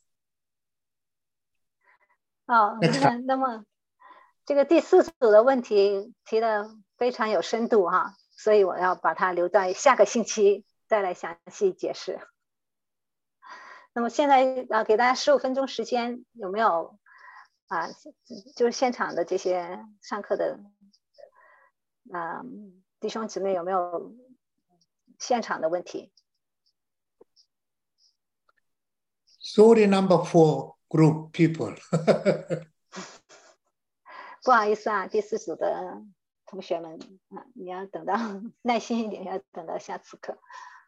哦，那么这个第四组的问题提的非常有深度哈，所以我要把它留在下个星期再来详细解释。那么现在啊，给大家十五分钟时间，有没有啊？就是现场的这些上课的啊弟兄姊妹有没有现场的问题？ Sorry, number four group people. 不好意思啊，第四组的同学们啊，你要等到耐心一点，要等到下次课。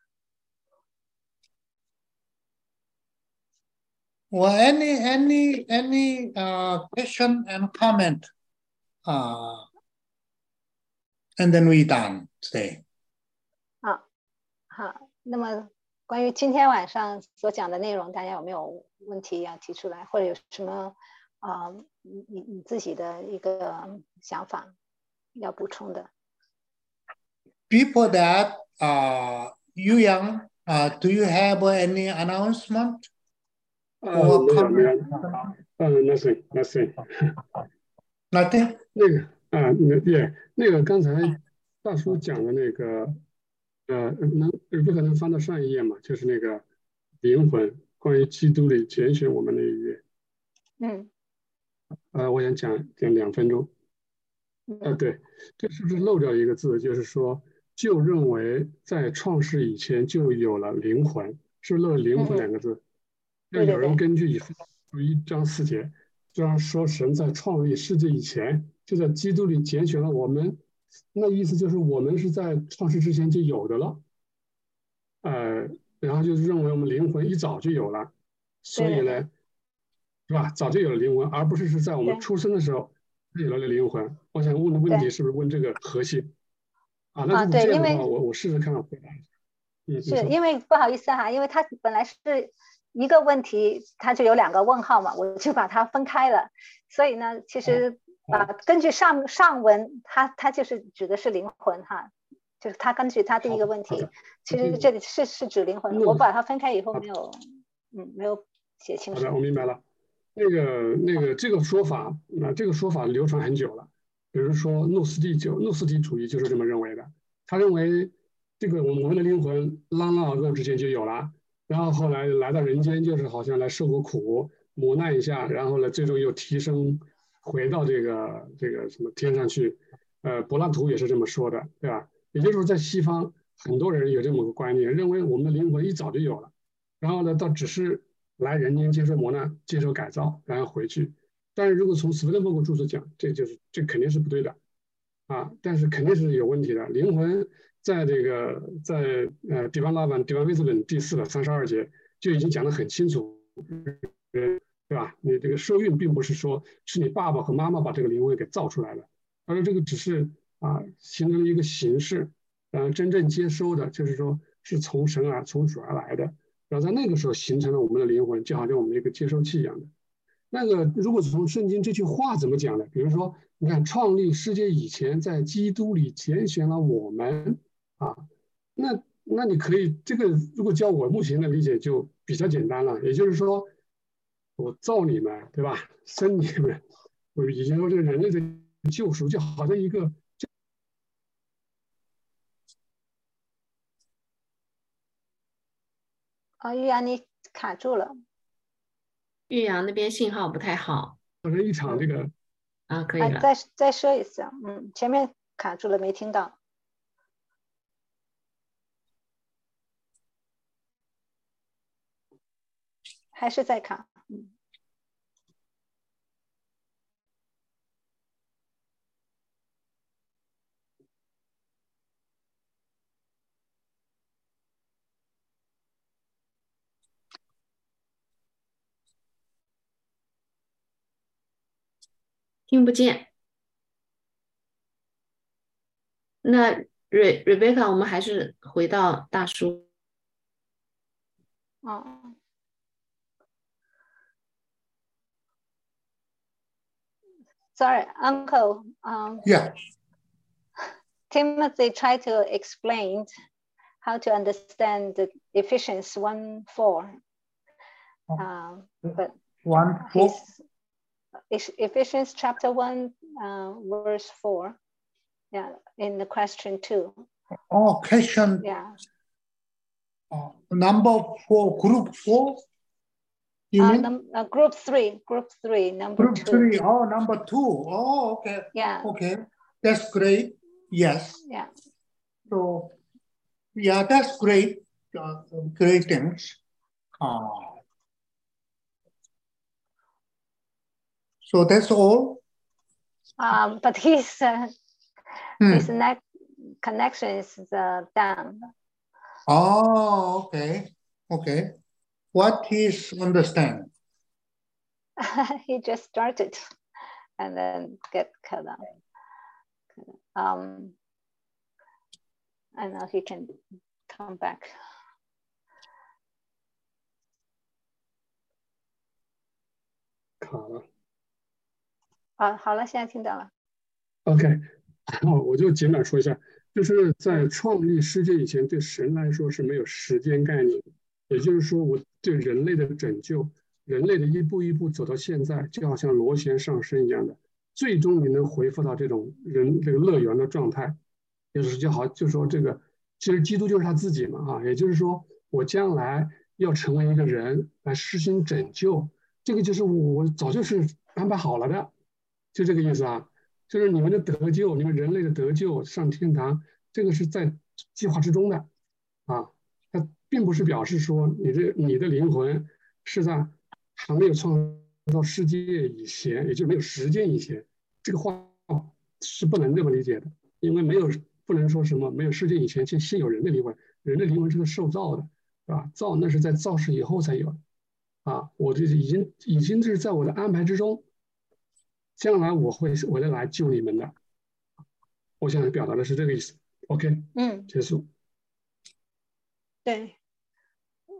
Well, any any any uh, question and comment, uh, and then we done today. 啊，好，那么关于今天晚上所讲的内容，大家有没有问题要提出来，或者有什么啊、呃，你你你自己的一个想法要补充的 ？Before that, uh, Yu Yang, uh, do you have any announcement? 呃，没有没有，嗯 ，nothing nothing nothing。 那个啊，那也那个刚才大叔讲的那个，呃，能不可能翻到上一页嘛？就是那个灵魂，关于基督里拣选我们那一页。 嗯。 呃，我想讲讲两分钟。呃，对，这是不是漏掉一个字？就是说，就认为在创世以前就有了灵魂，是不是漏了灵魂两个字？就有人根据以弗所书一章四节，这样说神在创立世界以前，就在基督里拣选了我们。那意思就是我们是在创世之前就有的了。呃，然后就认为我们灵魂一早就有了，所以呢，是吧？早就有了灵魂，而不是是在我们出生的时候有了灵魂。我想问的问题是不是问这个核心？啊，那如果这样的话，我我试试看回答。 是因为不好意思哈，因为他本来是一个问题它就有两个问号嘛，我就把它分开了。所以呢，其实啊、呃，根据上上文，它它就是指的是灵魂哈，就是它根据它第一个问题，其实这里是是指灵魂。我把它分开以后没有，嗯，没有写清楚。 好的，我明白了。那个那个这个说法，那这个说法流传很久了。比如说诺斯底就诺斯底主义就是这么认为的，他认为这个我们的灵魂拉拉尔之前就有了，然后后来来到人间就是好像来受过苦磨难一下，然后呢最终又提升回到这个这个什么天上去。呃，柏拉图也是这么说的，对吧？也就是说在西方很多人有这么个观念，认为我们的灵魂一早就有了，然后呢倒只是来人间接受磨难、接受改造，然后回去。但是如果从斯威登伯格注释讲，这就是这肯定是不对的，啊，但是肯定是有问题的。灵魂在这个在呃《底方拉本》《底方威斯本》第四的三十二节就已经讲得很清楚，对吧？你这个受孕并不是说是你爸爸和妈妈把这个灵魂给造出来的，而是这个只是啊形成了一个形式，然后真正接收的就是说是从神而从主而来的，然后在那个时候形成了我们的灵魂，就好像我们一个接收器一样的。那个如果从圣经这句话怎么讲呢？比如说，你看创立世界以前，在基督里拣选了我们啊，那那你可以这个如果教我目前的理解就比较简单了，也就是说，我造你们，对吧？生你们，我已经说这个人类的救赎就好像一个。 啊，玉阳你卡住了。 岳阳那边信号不太好， 好像一场这个啊，可以了。 啊、再再说一次，嗯，前面卡住了，没听到。还是在卡，嗯。 听不见。那 Re Rebecca， 我们还是回到大叔。 哦。Sorry, Uncle. Um, yeah. Timothy tried to explain how to understand the Ephesians one four. Um, but one four. Ephesians chapter one, uh, verse four. Yeah, in the question two. Oh, question. Yeah. Oh, number four, group four. You uh, mean? Num uh, group three, group three, number group two. three. Oh, number two. Oh, okay. Yeah. Okay, that's great. Yes. Yeah. So, yeah, that's great. Uh, great things. Uh, so that's all. Um, but his uh, hmm. his neck connection is uh, down. Oh, okay, okay. What is understand? He just started and then get cut off. Um, I know he can come back. 卡了。 啊，好了，现在听到了。 OK， 我就简短说一下，就是在创立世界以前，对神来说是没有时间概念，也就是说，我对人类的拯救，人类的一步一步走到现在，就好像螺旋上升一样的，最终你能回复到这种人这个乐园的状态，就是就好，就说这个，其实基督就是他自己嘛，啊，也就是说，我将来要成为一个人来实行拯救，这个就是我早就是安排好了的，就这个意思啊。就是你们的得救，你们人类的得救上天堂，这个是在计划之中的，啊，它并不是表示说你的你的灵魂是在还没有创造世界以前，也就是没有时间以前，这个话是不能这么理解的，因为没有不能说什么没有世界以前先先有人的灵魂，人的灵魂是个受造的，是吧？造那是在造世以后才有的，啊，我这已经已经是在我的安排之中。将来我会我会来救你们的，我想表达的是这个意思。OK， 嗯， 结束。 对，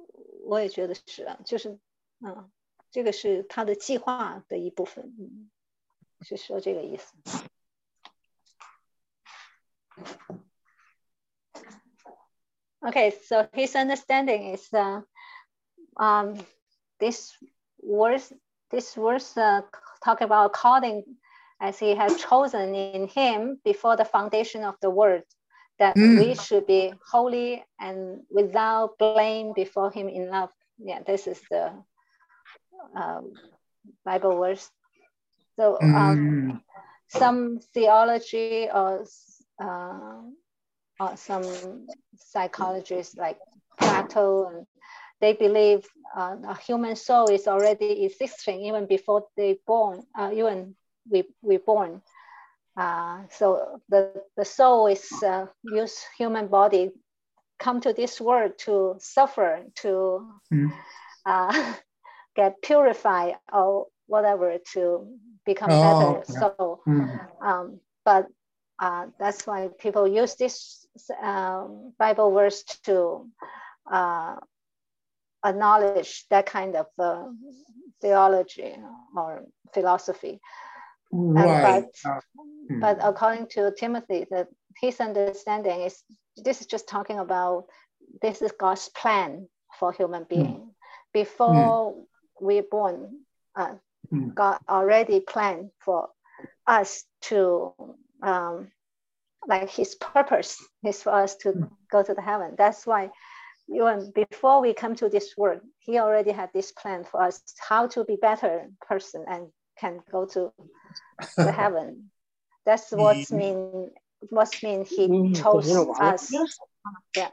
我也觉得是啊，就是嗯，这个是他的计划的一部分，嗯，是说这个意思。Okay, so his understanding is uh, um, this verse, this verse uh, talk about calling as he has chosen in him before the foundation of the world, that mm. we should be holy and without blame before him in love. Yeah, this is the uh, Bible verse. So um, mm. some theology or uh, or some psychologists like Plato, and they believe uh, a human soul is already existing even before they born, uh, even we we born. Uh, so the the soul is uh, use human body, come to this world to suffer, to mm. uh, get purified or whatever, to become oh, better yeah. soul. Mm. Um, but uh, that's why people use this uh, Bible verse to uh, acknowledge that kind of uh, theology or philosophy. Right. Um, but, uh, hmm. but according to Timothy, that his understanding is this is just talking about this is God's plan for human being. Hmm. Before hmm. we're born, uh, hmm. God already planned for us to um, like his purpose is for us to hmm. go to the heaven. That's why even before we come to this world, he already had this plan for us how to be better person and can go to the heaven. That's what's mean what's mean he chose us. Yeah.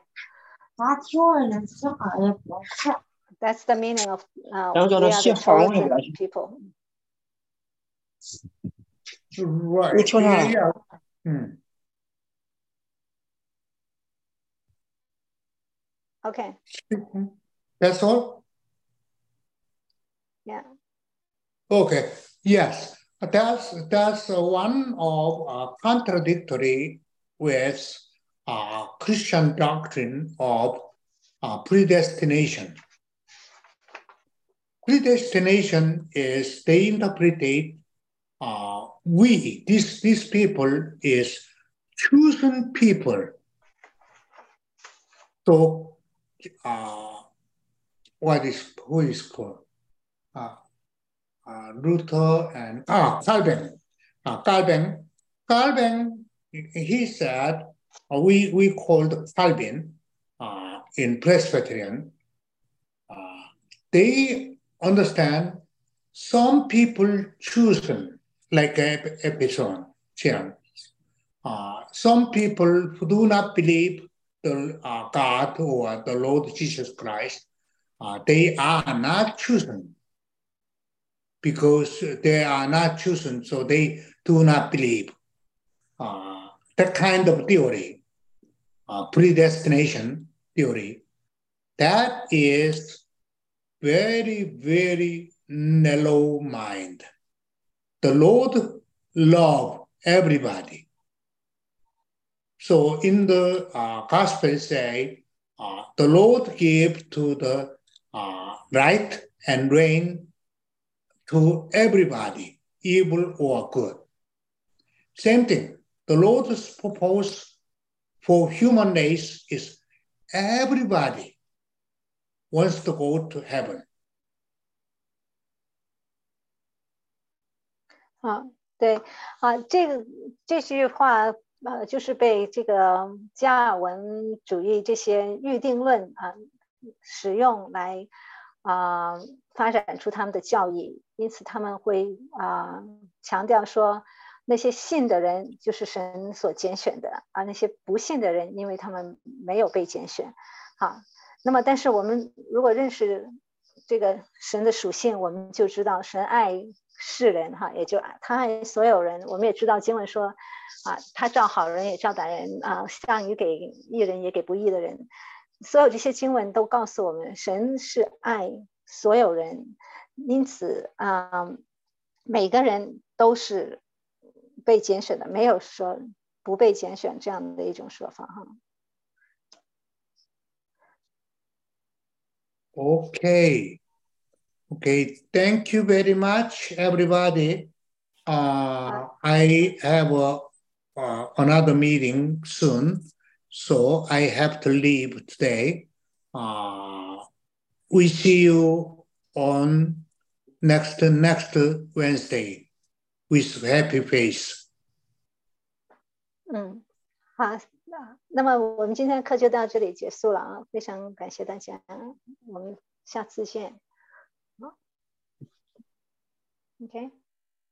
That's the meaning of uh, we are the chosen people. Right. Yeah. Hmm. Okay. That's all? Yeah. Okay. Yes. That's that's one of uh, contradictory with uh, Christian doctrine of uh, predestination. Predestination is they interpret uh, we these these people is chosen people. So uh, what is who is called uh, uh, Luther and ah Calvin. Uh, Calvin, Calvin, he said, uh, we, we called Calvin uh, in Presbyterian, uh, they understand some people chosen, like Epison, uh, some people who do not believe the uh, God or the Lord Jesus Christ, uh, they are not chosen. Because they are not chosen, so they do not believe. Uh, that kind of theory, uh, predestination theory, that is very, very narrow mind. The Lord loves everybody. So in the uh, gospel say, uh, the Lord gave to the uh, right and rain to everybody, evil or good. Same thing. The Lord's purpose for human race is everybody wants to go to heaven. 啊，对啊，这个这句话呃，就是被这个加尔文主义这些预定论啊使用来啊、呃、发展出他们的教义，因此他们会啊、呃、强调说，那些信的人就是神所拣选的，而那些不信的人，因为他们没有被拣选。好，那么但是我们如果认识这个神的属性，我们就知道神爱世人哈，也就他爱所有人。我们也知道经文说啊，他照好人也照歹人啊，降雨给义人也给不义的人。所有这些经文都告诉我们，神是爱所有人，因此啊，每个人都是被拣选的，没有说不被拣选这样的一种说法哈。 Okay. Okay. Thank you very much, everybody. Uh, I have a, uh, another meeting soon, so I have to leave today. Uh, we see you on next next Wednesday with happy face. 嗯，好，那么我们今天的课就到这里结束了啊，非常感谢大家，我们下次见。好 ，OK。